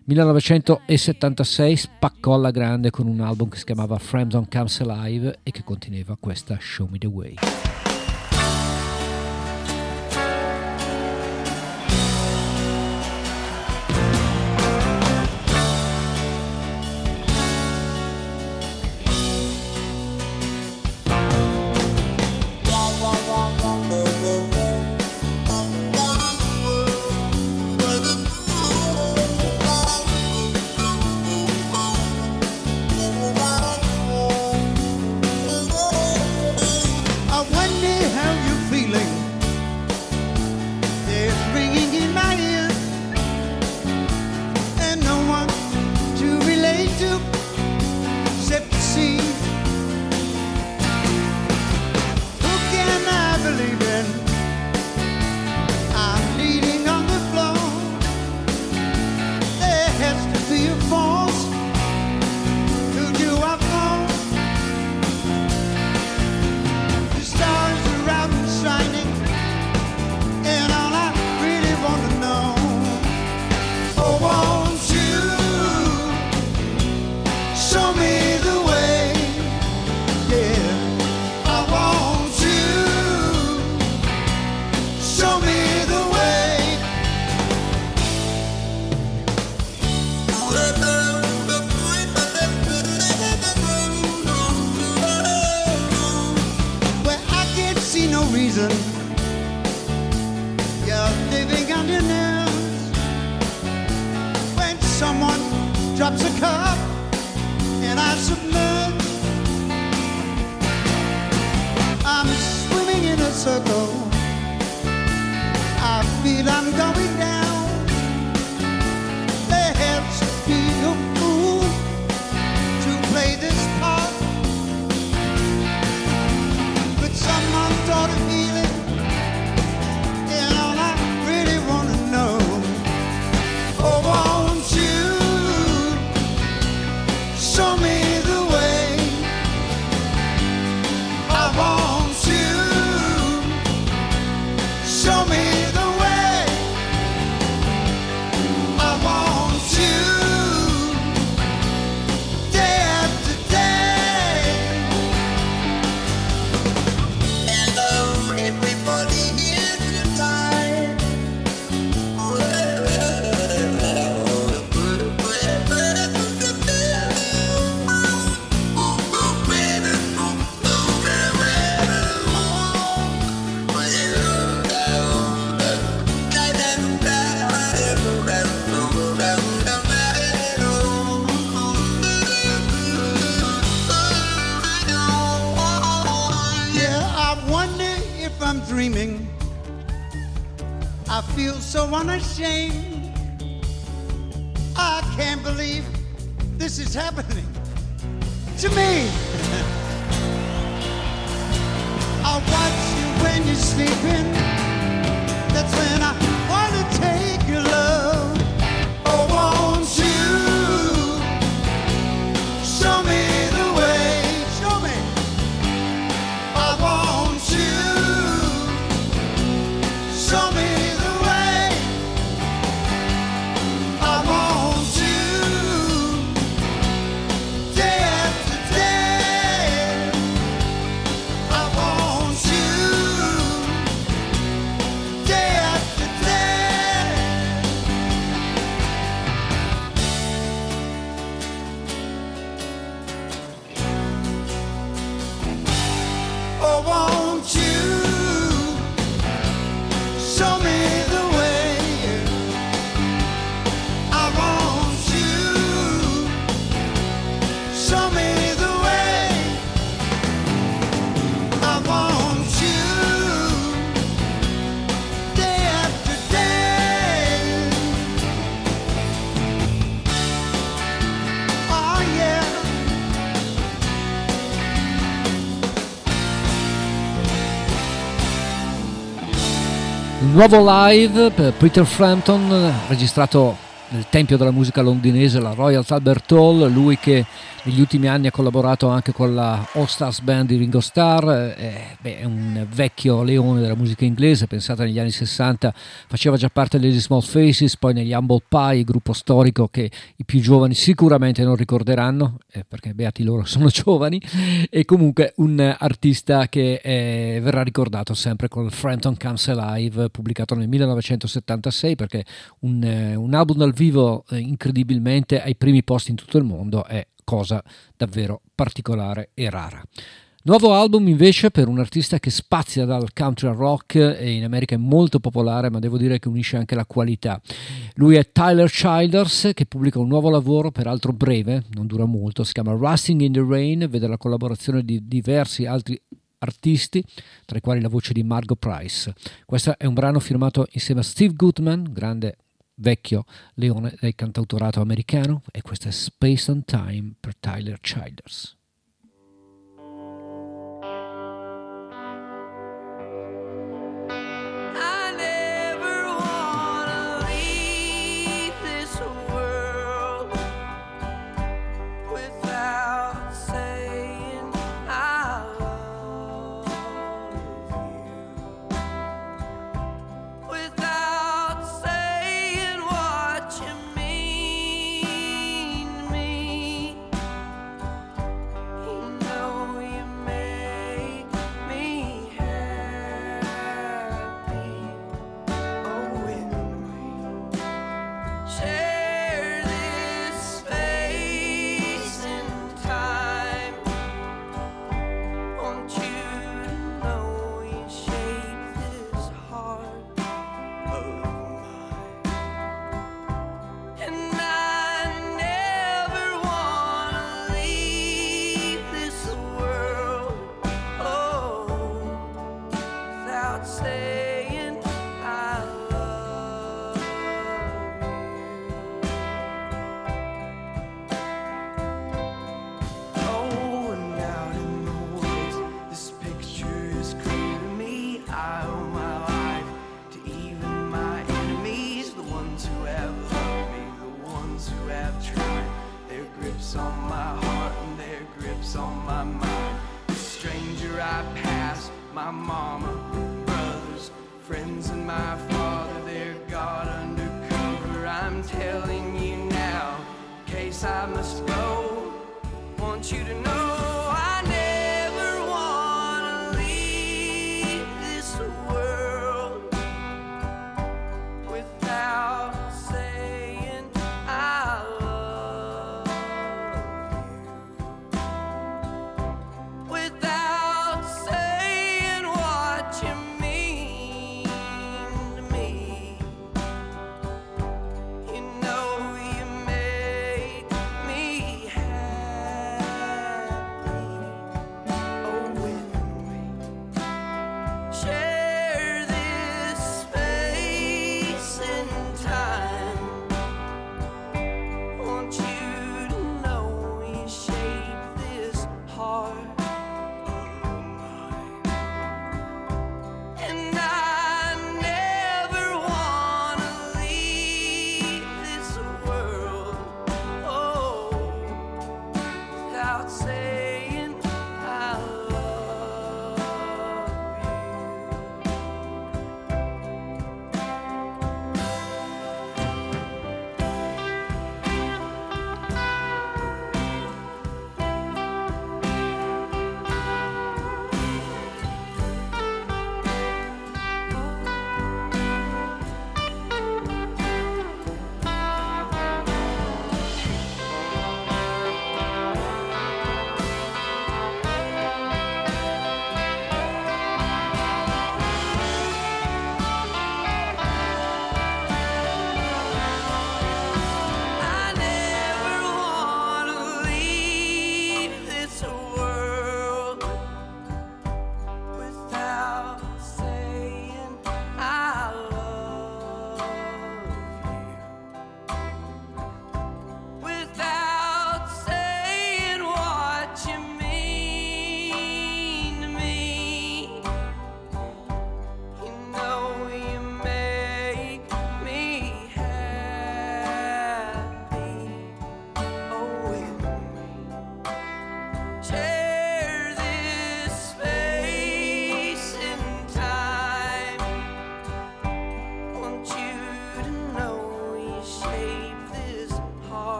[SPEAKER 2] 1976 spaccò alla grande con un album che si chiamava Frampton Comes Alive e che conteneva questa Show Me the Way.
[SPEAKER 7] Unashamed, I can't believe this is happening to me. I watch you when you're sleeping. That's when I want to take your love. Oh, won't you show me the way? Show me. I want you show me.
[SPEAKER 8] Day after day.
[SPEAKER 2] Un nuovo live per Peter Frampton, registrato nel tempio della musica londinese, la Royal Albert Hall. Lui che negli ultimi anni ha collaborato anche con la All Stars Band di Ringo Starr, è un vecchio leone della musica inglese. Pensate, negli anni 60 faceva già parte degli Small Faces, poi negli Humble Pie, gruppo storico che i più giovani sicuramente non ricorderanno, perché beati loro sono giovani, e comunque un artista che verrà ricordato sempre con Frampton Comes Alive, pubblicato nel 1976, perché un album dal vivo incredibilmente ai primi posti in tutto il mondo è cosa davvero particolare e rara. Nuovo album invece per un artista che spazia dal country al rock e in America è molto popolare, ma devo dire che unisce anche la qualità. Lui è Tyler Childers, che pubblica un nuovo lavoro, peraltro breve, non dura molto, si chiama Rusting in the Rain, vede la collaborazione di diversi altri artisti, tra i quali la voce di Margot Price. Questo è un brano firmato insieme a Steve Goodman, grande vecchio leone del cantautorato americano, e questo è Space and Time per Tyler Childers.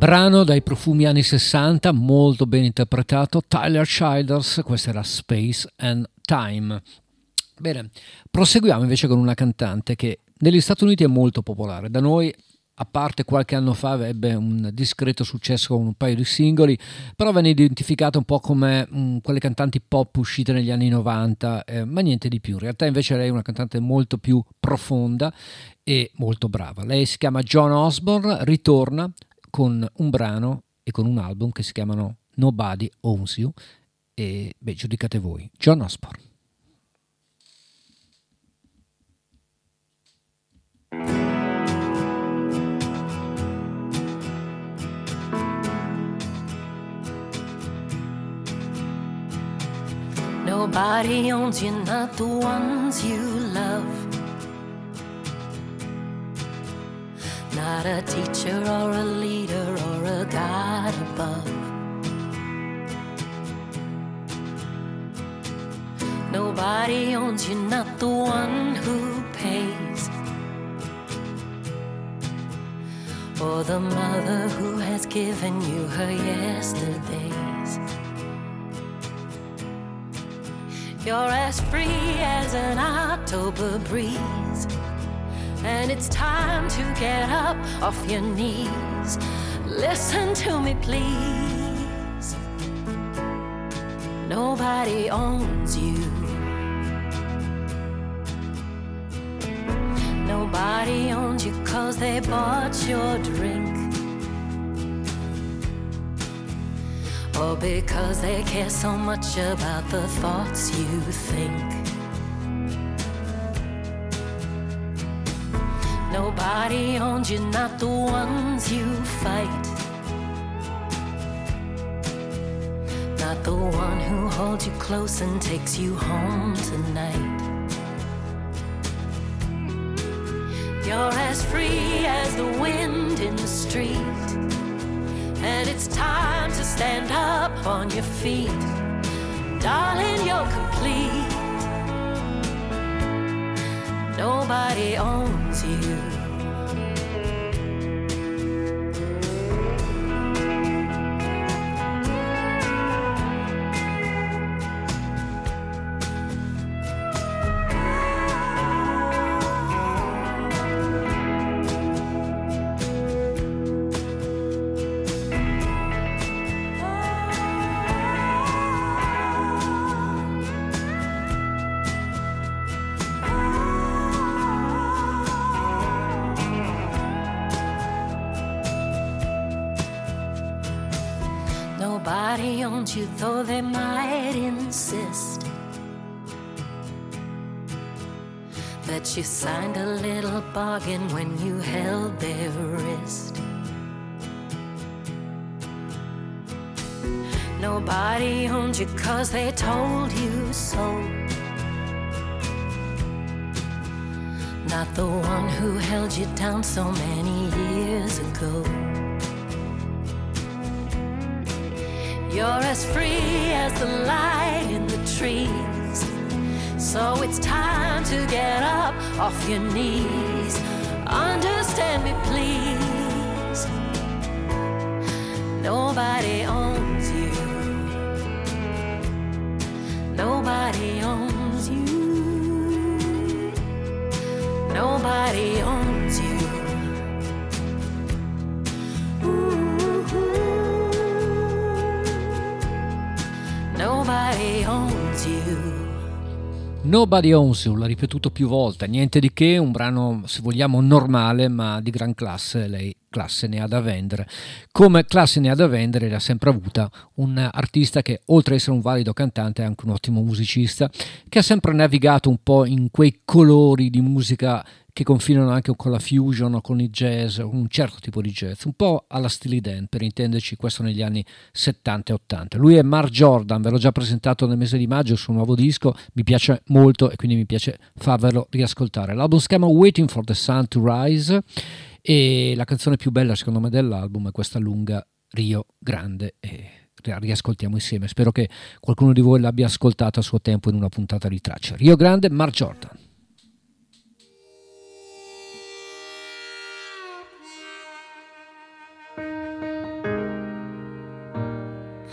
[SPEAKER 2] Brano dai profumi anni 60, molto ben interpretato, Tyler Childers, questa era Space and Time. Bene, proseguiamo invece con una cantante che negli Stati Uniti è molto popolare, da noi a parte qualche anno fa ebbe un discreto successo con un paio di singoli, però venne identificata un po' come quelle cantanti pop uscite negli anni 90, ma niente di più. In realtà invece lei è una cantante molto più profonda e molto brava. Lei si chiama Joan Osborne, ritorna con un brano e con un album che si chiamano Nobody Owns You e giudicate voi. Joan Osborne.
[SPEAKER 8] Nobody owns you, not the ones you love. Not a teacher or a leader or a God above. Nobody owns you, not the one who pays, or the mother who has given you her yesterdays. You're as free as an October breeze, and it's time to get up off your knees. Listen to me, please. Nobody owns you. Nobody owns you 'cause they bought your drink, or because they care so much about the thoughts you think. Nobody owns you, not the ones you fight, not the one who holds you close and takes you home tonight. You're as free as the wind in the street, and it's time to stand up on your feet. Darling, you're complete. Nobody owns you. Nobody owns you, though they might insist that you signed a little bargain when you held their wrist. Nobody owns you 'cause they told you so, not the one who held you down so many years ago. You're as free as the light in the trees, so it's time to get up off your knees. Understand me, please. Nobody owns you. Nobody owns you. Nobody owns you. Nobody owns you.
[SPEAKER 2] Nobody Owns You, l'ha ripetuto più volte, niente di che, un brano se vogliamo normale ma di gran classe. Lei classe ne ha da vendere, come classe ne ha da vendere l'ha sempre avuta un artista che oltre ad essere un valido cantante è anche un ottimo musicista, che ha sempre navigato un po' in quei colori di musica che confinano anche con la fusion o con il jazz, un certo tipo di jazz, un po' alla Steely Dan per intenderci, questo negli anni 70 e 80. Lui è Mark Jordan, ve l'ho già presentato nel mese di maggio, il suo nuovo disco, mi piace molto e quindi mi piace farvelo riascoltare. L'album si chiama Waiting for the Sun to Rise e la canzone più bella secondo me dell'album è questa lunga, Rio Grande, e riascoltiamo insieme. Spero che qualcuno di voi l'abbia ascoltata a suo tempo in una puntata di Traccia. Rio Grande, Mark Jordan.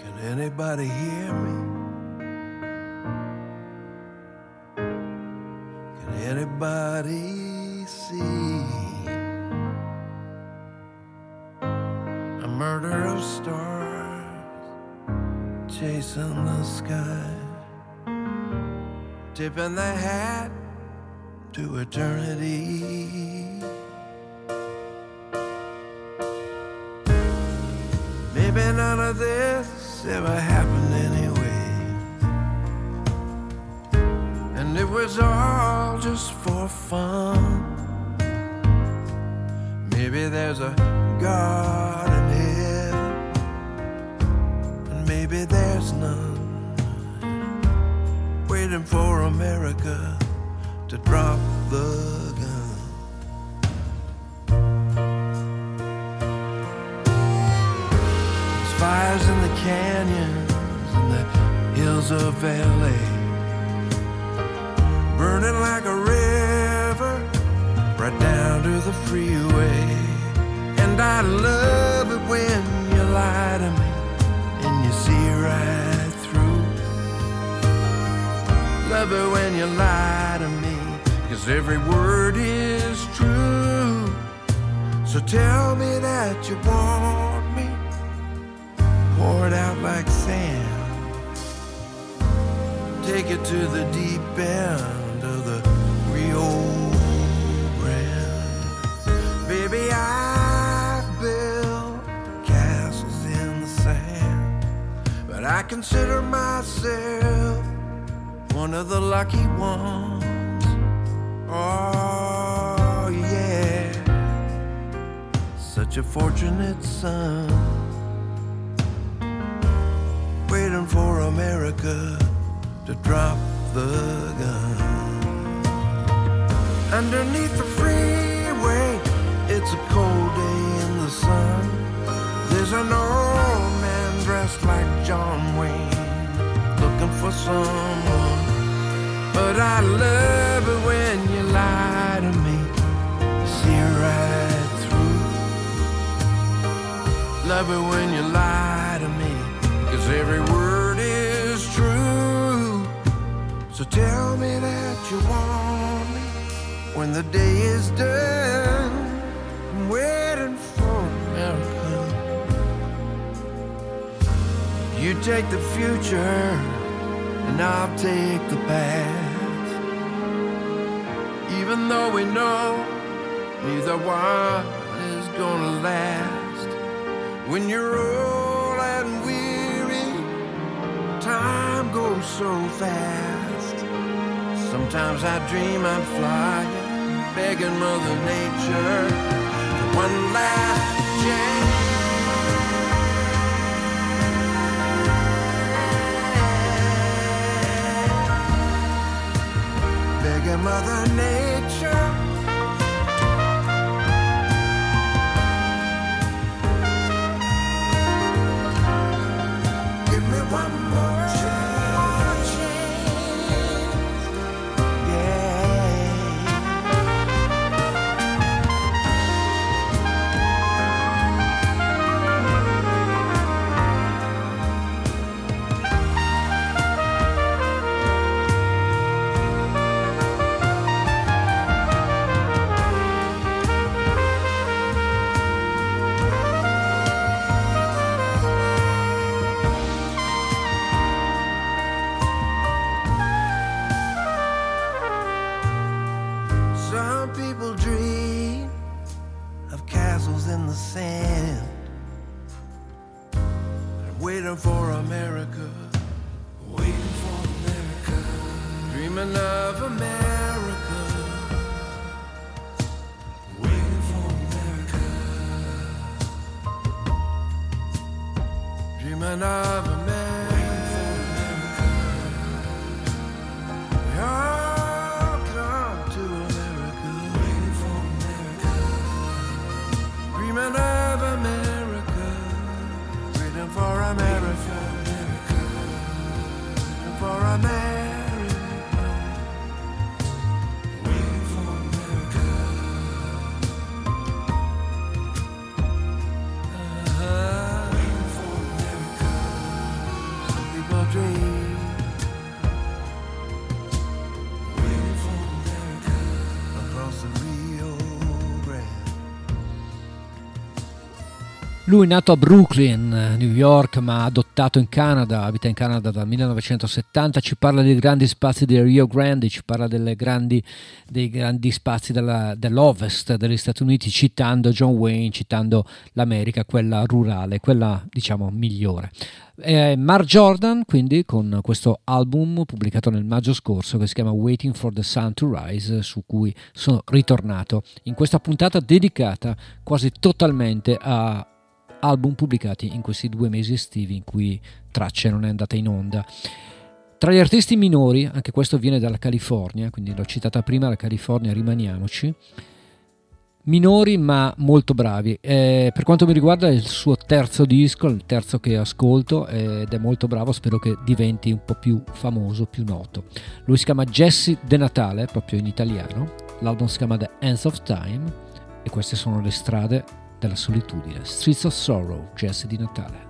[SPEAKER 6] Can anybody hear me? Can anybody see? A murder of stars chasing the sky, tipping the hat to eternity. Maybe none of this ever happened anyway, and it was all just for fun. Maybe there's a God in heaven, and maybe there's none, waiting for America to drop the gun. There's fires in the canyons and the hills of LA, burning like a river right down to the freeway. And I love it when you lie to me and you see right through. Love it when you lie to me, 'cause every word is true. So tell me that you want me, pour it out like sand, take it to the deep end of the Rio Grande. Baby, I've built castles in the sand, but I consider myself one of the lucky ones. Oh yeah, such a fortunate son, waiting for America to drop the gun. Underneath the freeway, it's a cold day in the sun. There's an old man dressed like John Wayne, looking for someone. But I love it when you lie to me, see right through. Love it when you lie to me, 'cause every word is true. So tell me that you want me when the day is done. I'm waiting for America. You take the future and I'll take the past. Even though we know neither one is gonna last. When you're old and weary, time goes so fast. Sometimes I dream I'm flying, begging Mother Nature for one last chance. Begging Mother Nature, give me one more chance. Yeah. Some people dream of castles in the sand, waiting for America, waiting for America, dreaming of America, waiting for America, dreaming of America. We all come to America, waiting for America, dreaming of America, waiting for America, waiting for America, waiting for America. Waiting for America.
[SPEAKER 2] Lui è nato a Brooklyn, New York, ma adottato in Canada, abita in Canada dal 1970, ci parla dei grandi spazi del Rio Grande, ci parla dei grandi spazi dell'Ovest degli Stati Uniti, citando John Wayne, citando l'America, quella rurale, quella diciamo migliore. Mark Jordan, quindi, con questo album pubblicato nel maggio scorso che si chiama Waiting for the Sun to Rise, su cui sono ritornato in questa puntata dedicata quasi totalmente a album pubblicati in questi 2 mesi estivi in cui Tracce non è andata in onda. Tra gli artisti minori, anche questo viene dalla California, quindi l'ho citata prima, la California, rimaniamoci, minori ma molto bravi. Per quanto mi riguarda è il suo terzo disco, il terzo che ascolto, ed è molto bravo, spero che diventi un po' più famoso, più noto. Lui si chiama Jesse De Natale, proprio in italiano, l'album si chiama The Ends of Time e queste sono le strade della solitudine. Streets of Sorrow, Jesse Di Natale.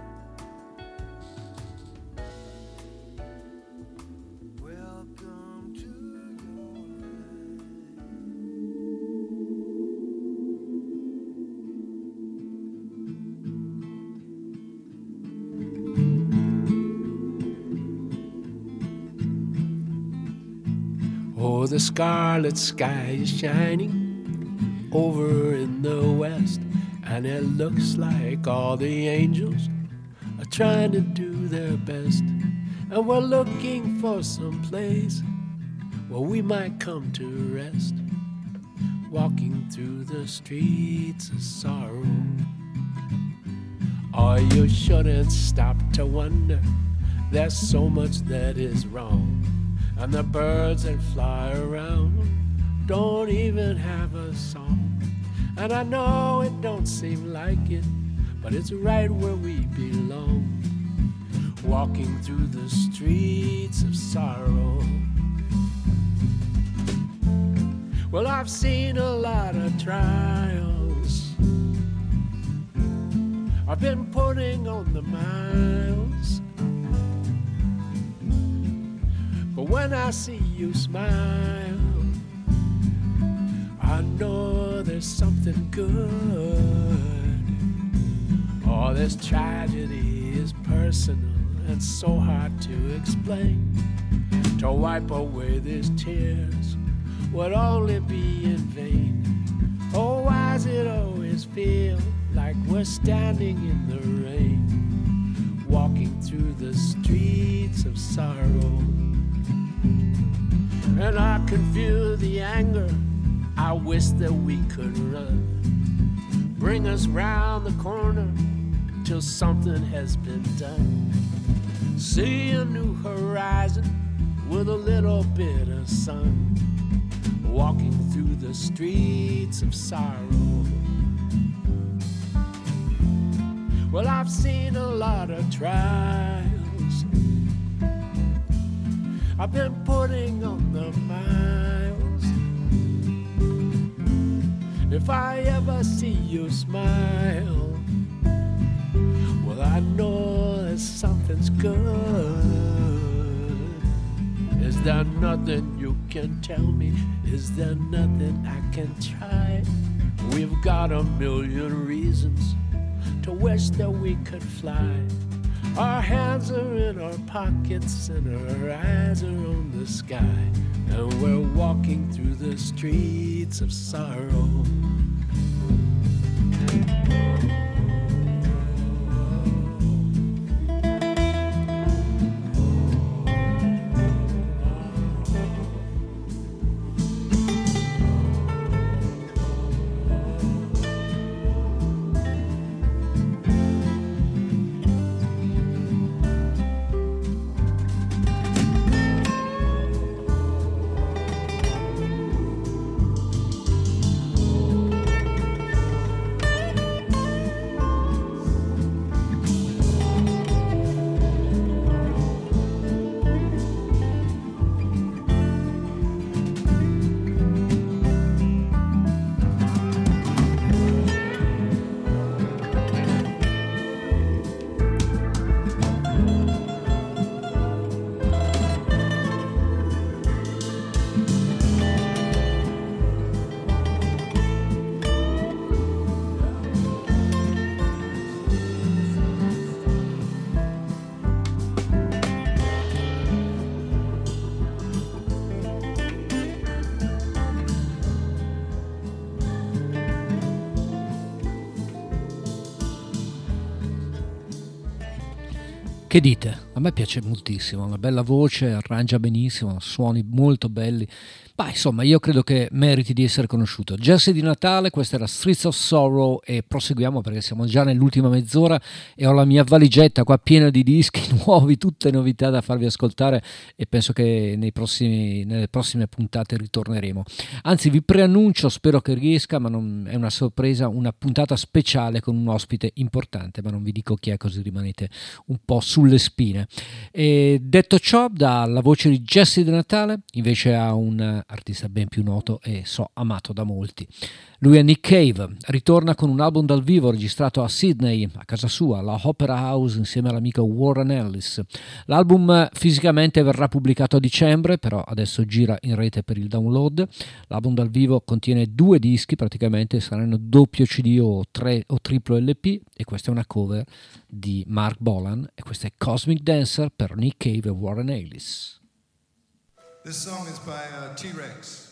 [SPEAKER 9] Oh, the scarlet sky is shining over in the west, and it looks like all the angels are trying to do their best. And we're looking for some place where we might come to rest, walking through the streets of sorrow. Oh, you shouldn't stop to wonder, there's so much that is wrong. And the birds that fly around don't even have a song. And I know it don't seem like it, but it's right where we belong, walking through the streets of sorrow. Well, I've seen a lot of trials, I've been putting on the miles, but when I see you smile, I know there's something good. Oh, this tragedy is personal and so hard to explain. To wipe away these tears would only be in vain. Oh, why does it always feel like we're standing in the rain, walking through the streets of sorrow? And I can feel the anger, I wish that we could run, bring us round the corner till something has been done. See a new horizon with a little bit of sun, walking through the streets of sorrow. Well, I've seen a lot of trials, I've been putting on the miles. If I ever see you smile, well, I know that something's good. Is there nothing you can tell me? Is there nothing I can try? We've got a million reasons to wish that we could fly. Our hands are in our pockets and our eyes are on the sky, and we're walking through the streets of sorrow.
[SPEAKER 2] Che dite? A me piace moltissimo, una bella voce, arrangia benissimo, suoni molto belli. Ma insomma, io credo che meriti di essere conosciuto. Jesse di Natale, questa era Streets of Sorrow e proseguiamo perché siamo già nell'ultima mezz'ora e ho la mia valigetta qua piena di dischi nuovi, tutte novità da farvi ascoltare e penso che nelle prossime puntate ritorneremo. Anzi, vi preannuncio, spero che riesca, ma non è una sorpresa, una puntata speciale con un ospite importante, ma non vi dico chi è così rimanete un po' sulle spine. E detto ciò, dalla voce di Jesse di Natale invece ha un artista ben più noto e amato da molti. Lui è Nick Cave, ritorna con un album dal vivo registrato a Sydney, a casa sua, alla Opera House, insieme all'amico Warren Ellis. L'album fisicamente verrà pubblicato a dicembre, però adesso gira in rete per il download. L'album dal vivo contiene 2 dischi, praticamente saranno doppio CD o triplo LP, e questa è una cover di Mark Bolan e questa è Cosmic Dancer per Nick Cave e Warren Ellis.
[SPEAKER 10] This song is by T-Rex.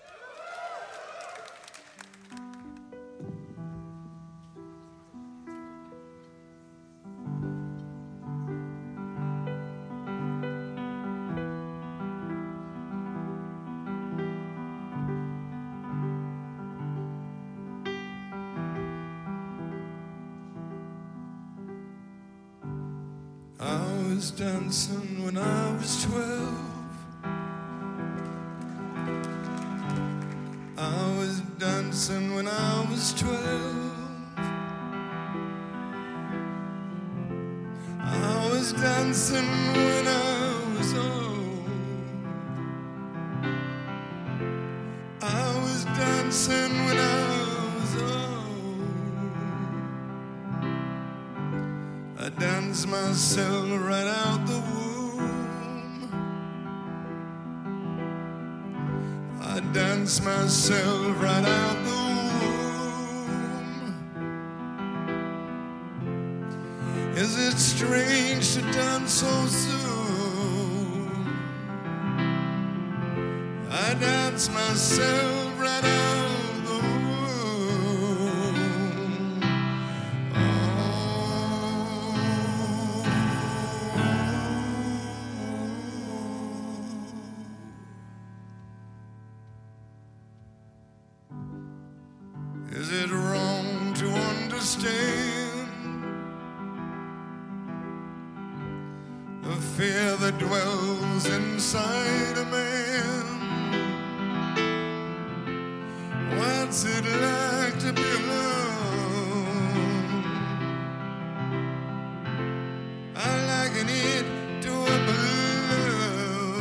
[SPEAKER 10] I was dancing when I was 12. I was dancing when I was 12. I was dancing when I was old. I was dancing when I was old. I danced myself right out the womb. I danced myself right out the womb. Is it strange to dance so soon? I danced myself right out the womb. Is it wrong to understand the fear that dwells inside a man? What's it like to be alone? I liken it to a balloon.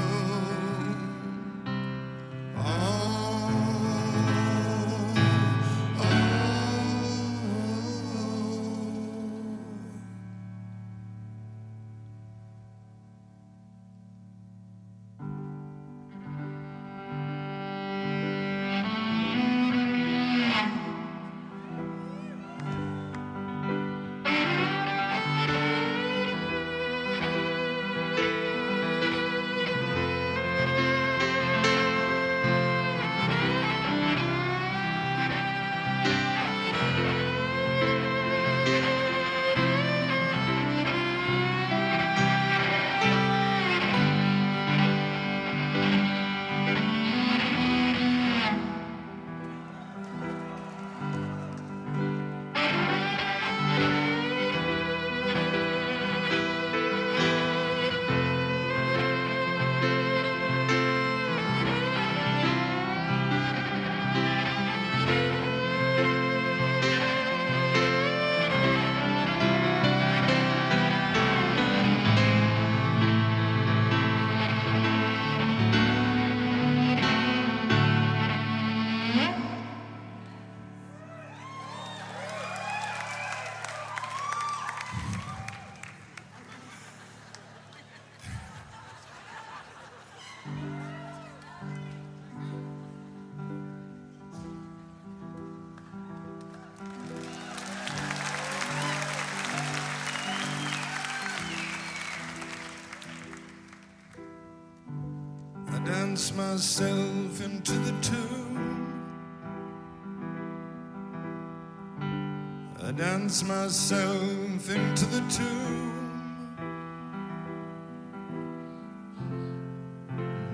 [SPEAKER 10] Dance myself into the tune. I dance myself into the tune.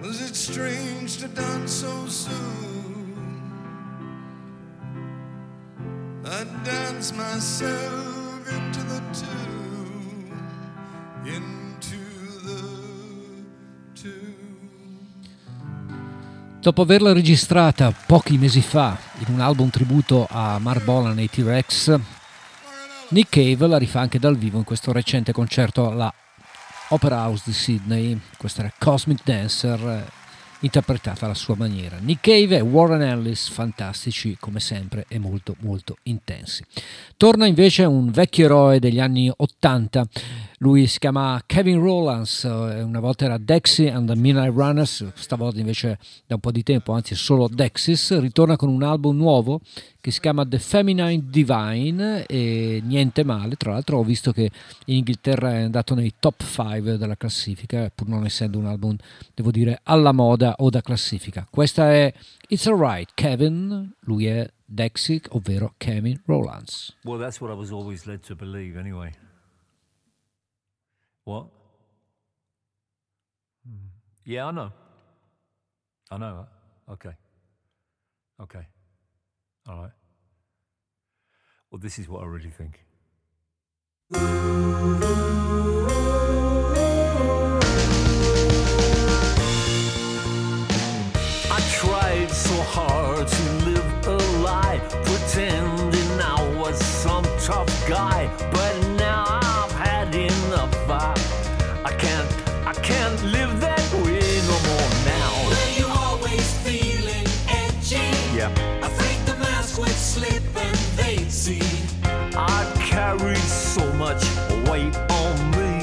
[SPEAKER 10] Was it strange to done so soon? I danced myself into the tune, into the tune.
[SPEAKER 2] Dopo averla registrata pochi mesi fa in un album tributo a Mark Bolan e i T-Rex, Nick Cave la rifà anche dal vivo in questo recente concerto alla Opera House di Sydney. Questa era Cosmic Dancer, interpretata alla sua maniera. Nick Cave e Warren Ellis, fantastici come sempre e molto molto intensi. Torna invece un vecchio eroe degli anni 80. Lui si chiama Kevin Rowlands, una volta era Dexy and the Midnight Runners, stavolta invece da un po' di tempo, anzi solo Dexys, ritorna con un album nuovo che si chiama The Feminine Divine e niente male. Tra l'altro ho visto che in Inghilterra è andato nei top 5 della classifica, pur non essendo un album, devo dire, alla moda o da classifica. Questa è It's Alright Kevin, lui è Dexy, ovvero Kevin Rowlands.
[SPEAKER 11] Well, that's what I was always led to believe anyway. What? Yeah, I know. I know. Okay. Okay. All right. Well, this is what I really think. I tried so hard to live a lie, pretending I was some tough guy, but now I've had enough. I can't live that way no more now.
[SPEAKER 5] Were you always feeling edgy?
[SPEAKER 11] Yeah.
[SPEAKER 5] Afraid the mask would slip and they'd see.
[SPEAKER 11] I carried so much weight on me.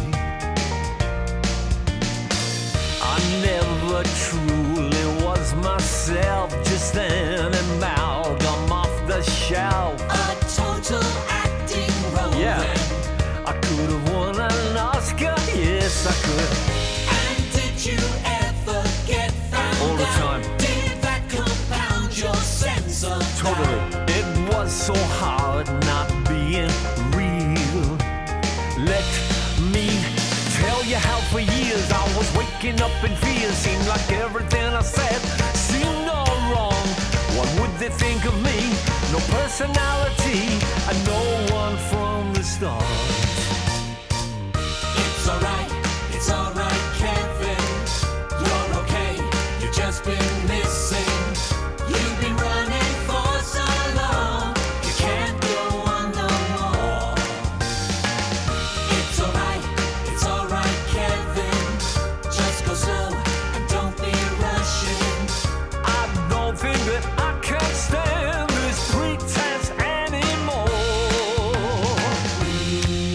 [SPEAKER 11] I never truly was myself, just an amalgam off the shelf.
[SPEAKER 5] A total acting role.
[SPEAKER 11] Yeah.
[SPEAKER 5] Then.
[SPEAKER 11] I could have won an Oscar, yes I could.
[SPEAKER 5] And did you ever get found
[SPEAKER 11] All the time.
[SPEAKER 5] out? Did that compound your sense of
[SPEAKER 11] Totally.
[SPEAKER 5] doubt?
[SPEAKER 11] It was so hard not being real. Let me tell you how for years I was waking up in fear. Seemed like everything I said seemed all wrong. What would they think of me? No personality and no one from the start.
[SPEAKER 5] It's alright, Kevin. You're okay, you've just been missing. You've been running for so long, you can't go on no more. It's alright, Kevin. Just go slow and don't be rushing.
[SPEAKER 11] I don't think that I can stand this pretense anymore.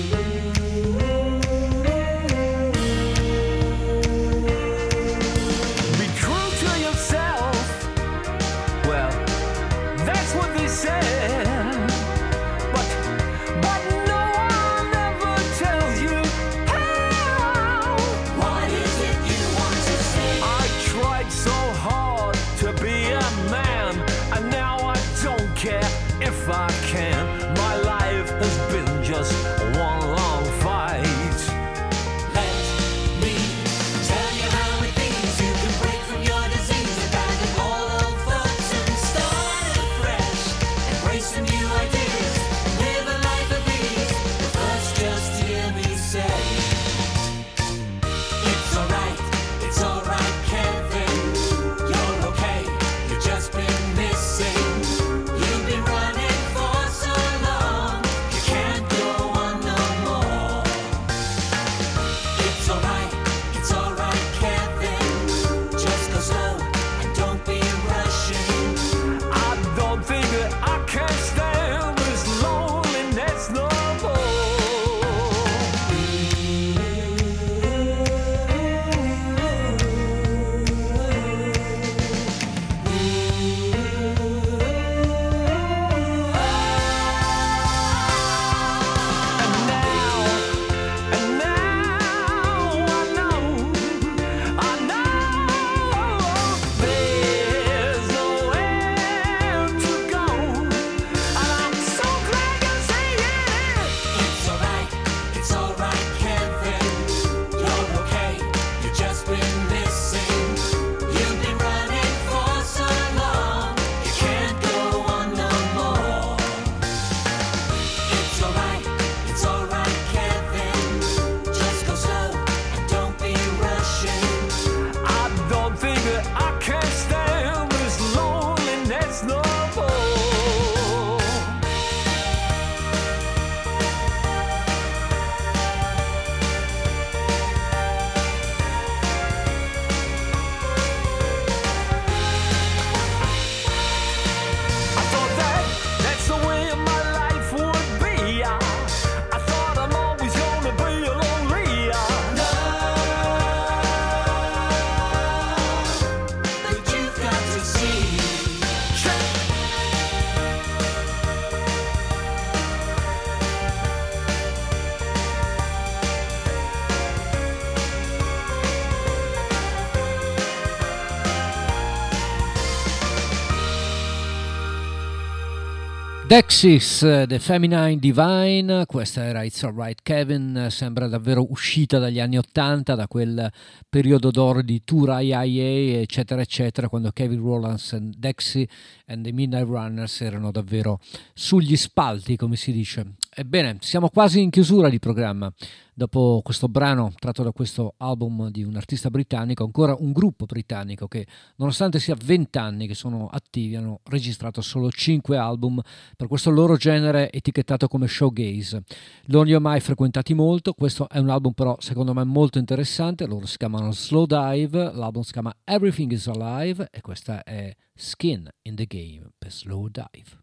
[SPEAKER 2] Dexys, The Feminine Divine, questa era It's Alright Kevin, sembra davvero uscita dagli anni '80, da quel periodo d'oro di Tour IIA eccetera eccetera, quando Kevin Rowlands, Dexy and the Midnight Runners erano davvero sugli spalti, come si dice. Ebbene, siamo quasi in chiusura di programma. Dopo questo brano tratto da questo album di un artista britannico, ancora un gruppo britannico che, nonostante sia 20 anni che sono attivi, hanno registrato solo 5 album per questo loro genere etichettato come showgaze. Non li ho mai frequentati molto, questo è un album però secondo me molto interessante. Loro si chiamano Slow Dive, l'album si chiama Everything is Alive e questa è Skin in the Game per Slow Dive.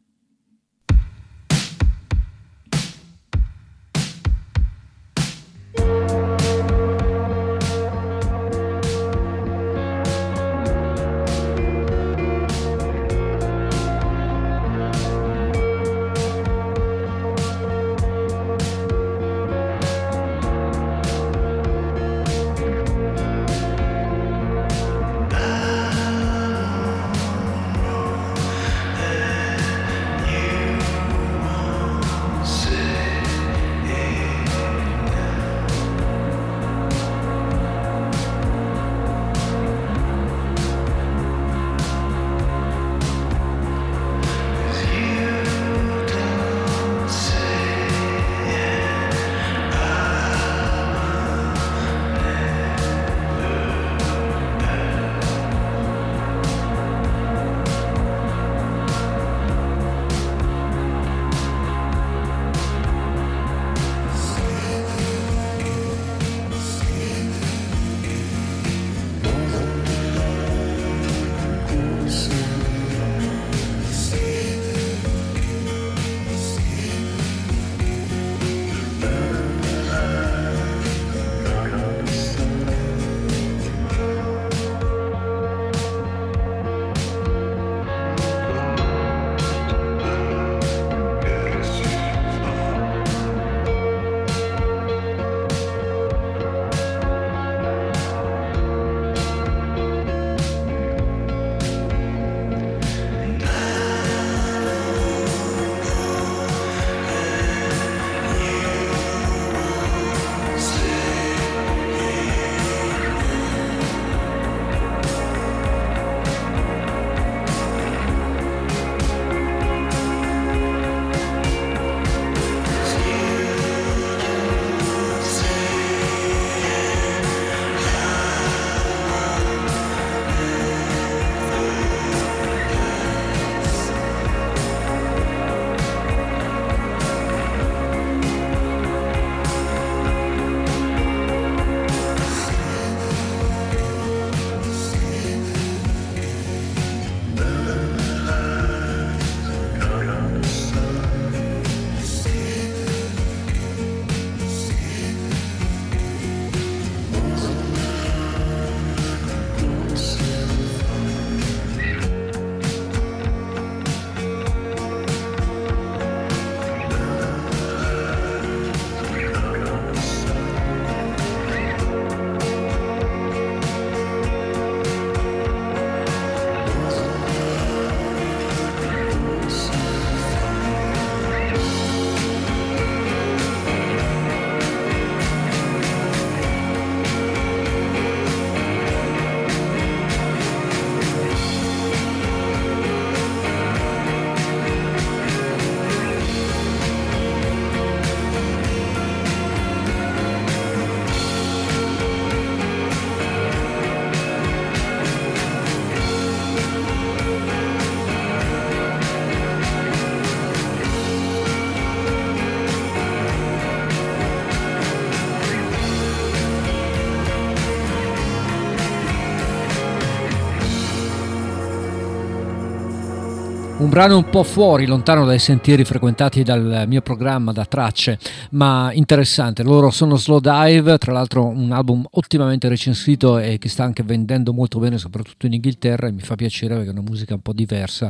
[SPEAKER 2] Un brano un po' fuori, lontano dai sentieri frequentati dal mio programma da tracce, ma interessante. Loro sono Slow Dive, tra l'altro un album ottimamente recensito e che sta anche vendendo molto bene, soprattutto in Inghilterra, e mi fa piacere perché è una musica un po' diversa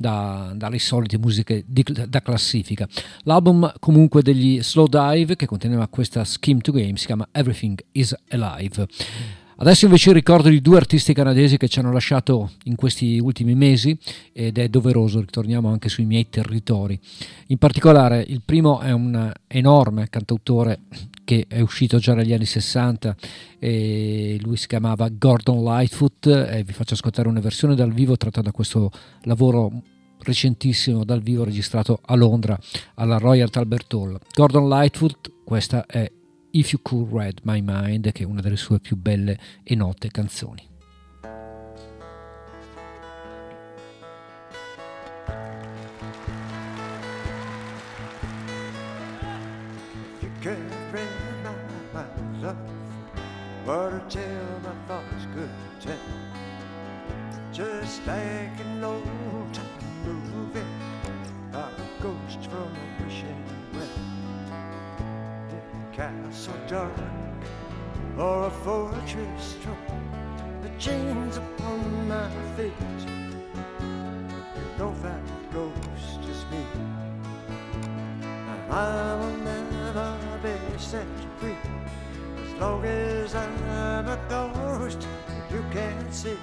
[SPEAKER 2] dalle solite musiche da classifica. L'album comunque degli Slow Dive, che conteneva questa Scheme to Game, si chiama Everything is Alive. Adesso invece ricordo di due artisti canadesi che ci hanno lasciato in questi ultimi mesi ed è doveroso, ritorniamo anche sui miei territori. In particolare il primo è un enorme cantautore che è uscito già negli anni 60 e lui si chiamava Gordon Lightfoot e vi faccio ascoltare una versione dal vivo tratta da questo lavoro recentissimo dal vivo registrato a Londra alla Royal Albert Hall. Gordon Lightfoot, questa è If You Could Read My Mind, che è una delle sue più belle e note canzoni.
[SPEAKER 4] If you could read my mind, love, what a tale my thoughts could tell. Just like an old time movie, a ghost from a wishing well. Castle dark or a fortress strong, the chains upon my feet. You know that ghost is me, and I will never be set free as long as I'm a ghost that you can't see.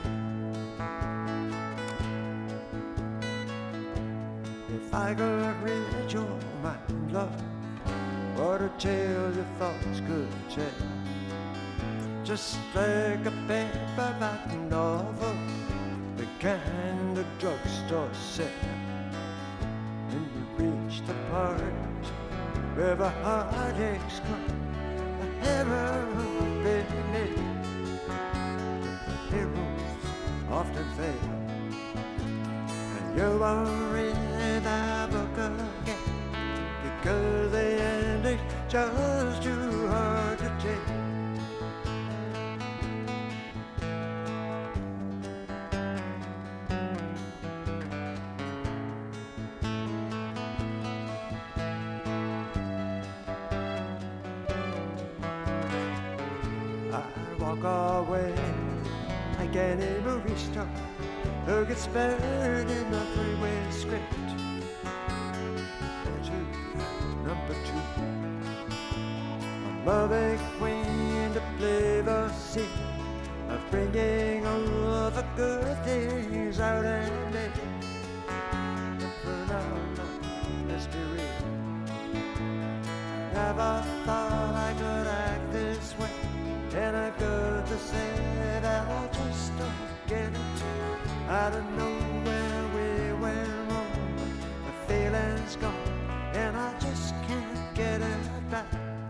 [SPEAKER 4] If I could read your mind, love, what a tale your thoughts could tell. Just like a paperback novel, the kind of drugstore sell. And you reach the part where the heartaches come, the heroes beneath. The heroes often fail, and you won't read that book again, because the ending's just too hard to take. I walk away like any movie star who gets buried in a three-way script. Number two, a loving queen to play the scene of bringing all the good things out in me. But no, let's be real, never thought I could act this way, and I've got to say that I just don't get it. I don't know where we went wrong, but the feeling's gone, and I just can't get it back.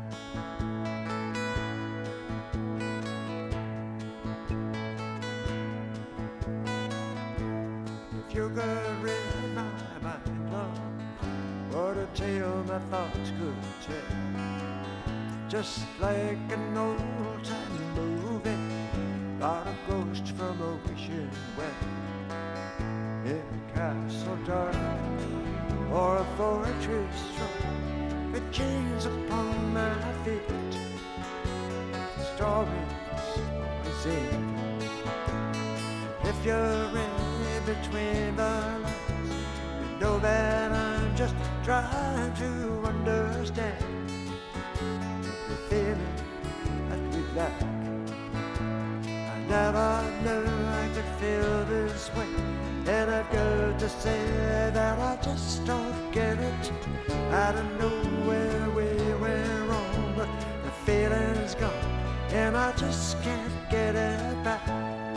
[SPEAKER 4] If you could read my mind, love, what a tale my thoughts could tell. Just like an old-time movie about a ghost from a wishing well, in a castle dark or a fortress strong, with chains upon my feet. Stories always end. If you're in between the lines, you know that I'm just trying to understand the feeling that we lack. I never knew I could feel this way, and I've got to say that I just don't get it. I don't know where we went wrong, but the feeling's gone, and I just can't get it back.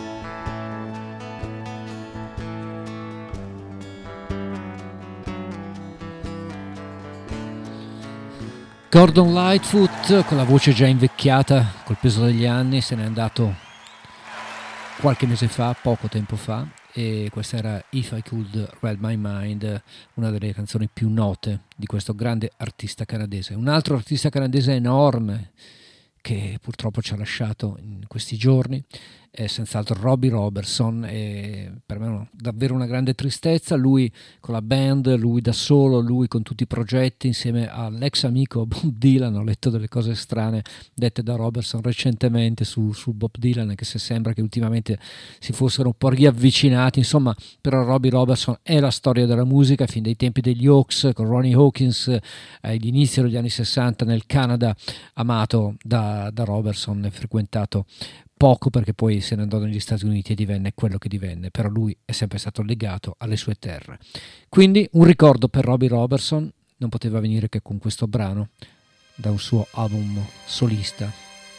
[SPEAKER 2] Gordon Lightfoot, con la voce già invecchiata col peso degli anni, se n'è andato qualche mese fa, poco tempo fa, e questa era If I Could Read My Mind, una delle canzoni più note di questo grande artista canadese. Un altro artista canadese enorme che purtroppo ci ha lasciato in questi giorni è senz'altro Robbie Robertson, e per me è davvero una grande tristezza. Lui con la band, lui da solo, lui con tutti i progetti insieme all'ex amico Bob Dylan. Ho letto delle cose strane dette da Robertson recentemente su Bob Dylan, che se sembra che ultimamente si fossero un po' riavvicinati. Insomma, però Robbie Robertson è la storia della musica fin dai tempi degli Hawks, con Ronnie Hawkins all'inizio degli anni 60 nel Canada, amato da Robertson e frequentato poco perché poi se ne andò negli Stati Uniti e divenne quello che divenne, però lui è sempre stato legato alle sue terre. Quindi un ricordo per Robbie Robertson non poteva venire che con questo brano da un suo album solista,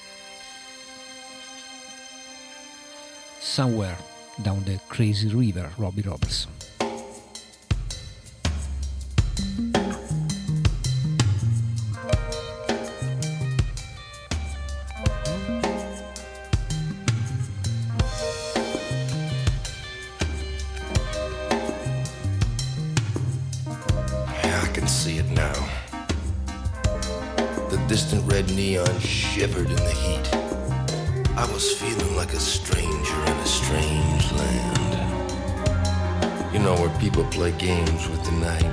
[SPEAKER 2] Somewhere Down the Crazy River, Robbie Robertson.
[SPEAKER 12] See it now. The distant red neon shivered in the heat. I was feeling like a stranger in a strange land. You know, where people play games with the night.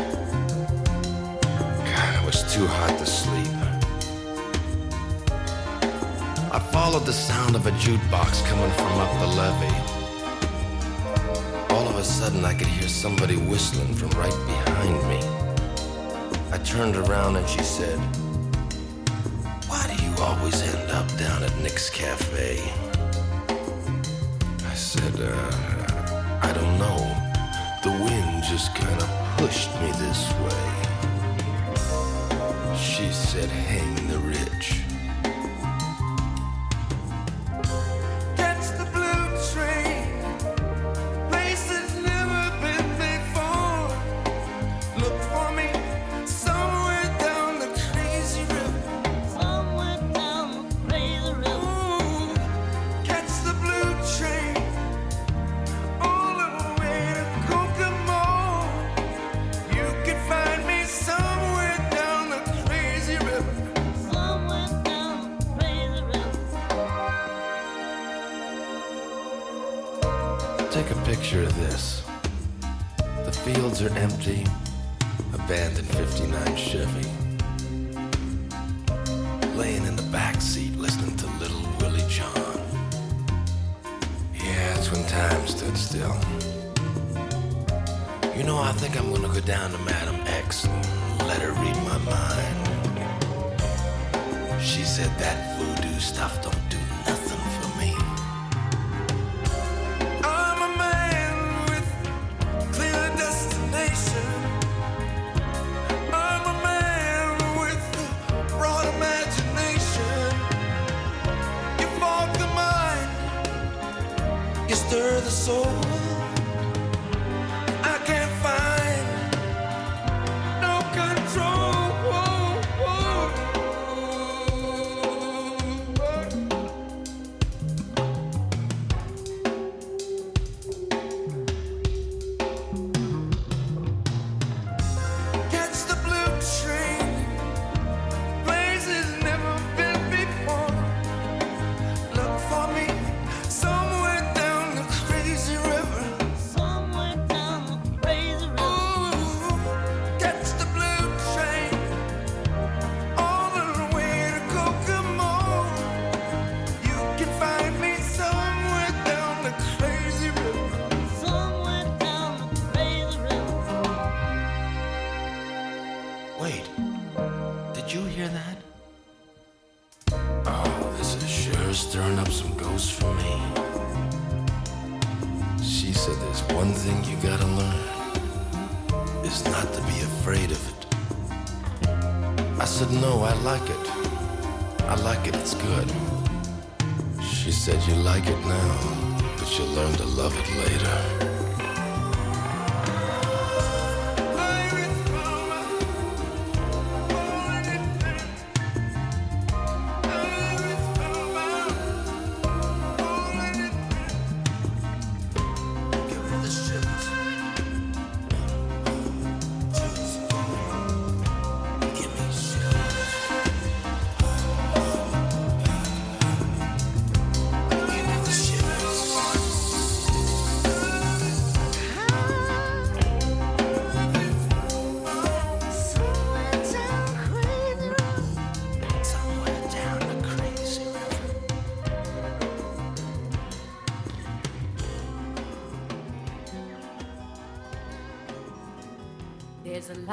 [SPEAKER 12] God, it was too hot to sleep. I followed the sound of a jukebox coming from up the levee. All of a sudden I could hear somebody whistling from right behind me. I turned around and she said, "Why do you always end up down at Nick's Cafe?" I said, I don't know. The wind just kind of pushed me this way. She said, "Hang the rich." Take a picture of this. The fields are empty, abandoned 59 Chevy. Laying in the back seat listening to Little Willie John. Yeah, it's when time stood still. You know, I think I'm gonna go down to Madam X and let her read my mind. She said that voodoo stuff don't do nothing for me.
[SPEAKER 13] Stir the soul. I can't find no control. Catch the blue train, places never been before. Look for me somewhere down the crazy river. Somewhere down the crazy river. Ooh, catch the blue train all the way to Kokomo. You can find me somewhere down the crazy river. Somewhere down the crazy river.
[SPEAKER 12] Wait, did you hear that? Oh, this is sure stirring up some ghosts for me. She said there's one thing you gotta learn, is not to be afraid of it. I said, no, I like it. I like it, it's good. She said, you like it now, but you'll learn to love it later.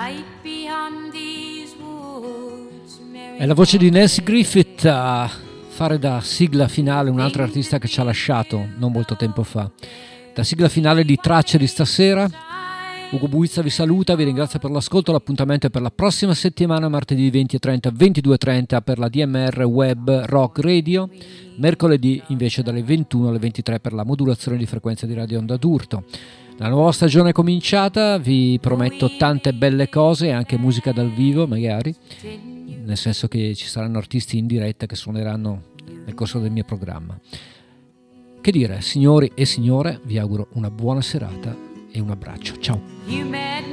[SPEAKER 2] È la voce di Nancy Griffith a fare da sigla finale un altro artista che ci ha lasciato non molto tempo fa. Da sigla finale di Tracce di stasera, Ugo Buizza vi saluta, vi ringrazio per l'ascolto. L'appuntamento è per la prossima settimana, martedì 20:30, 22:30 per la DMR Web Rock Radio, mercoledì invece dalle 21 alle 23 per la modulazione di frequenza di Radio Onda d'Urto. La nuova stagione è cominciata, vi prometto tante belle cose, anche musica dal vivo magari, nel senso che ci saranno artisti in diretta che suoneranno nel corso del mio programma. Che dire, signori e signore, vi auguro una buona serata e un abbraccio. Ciao.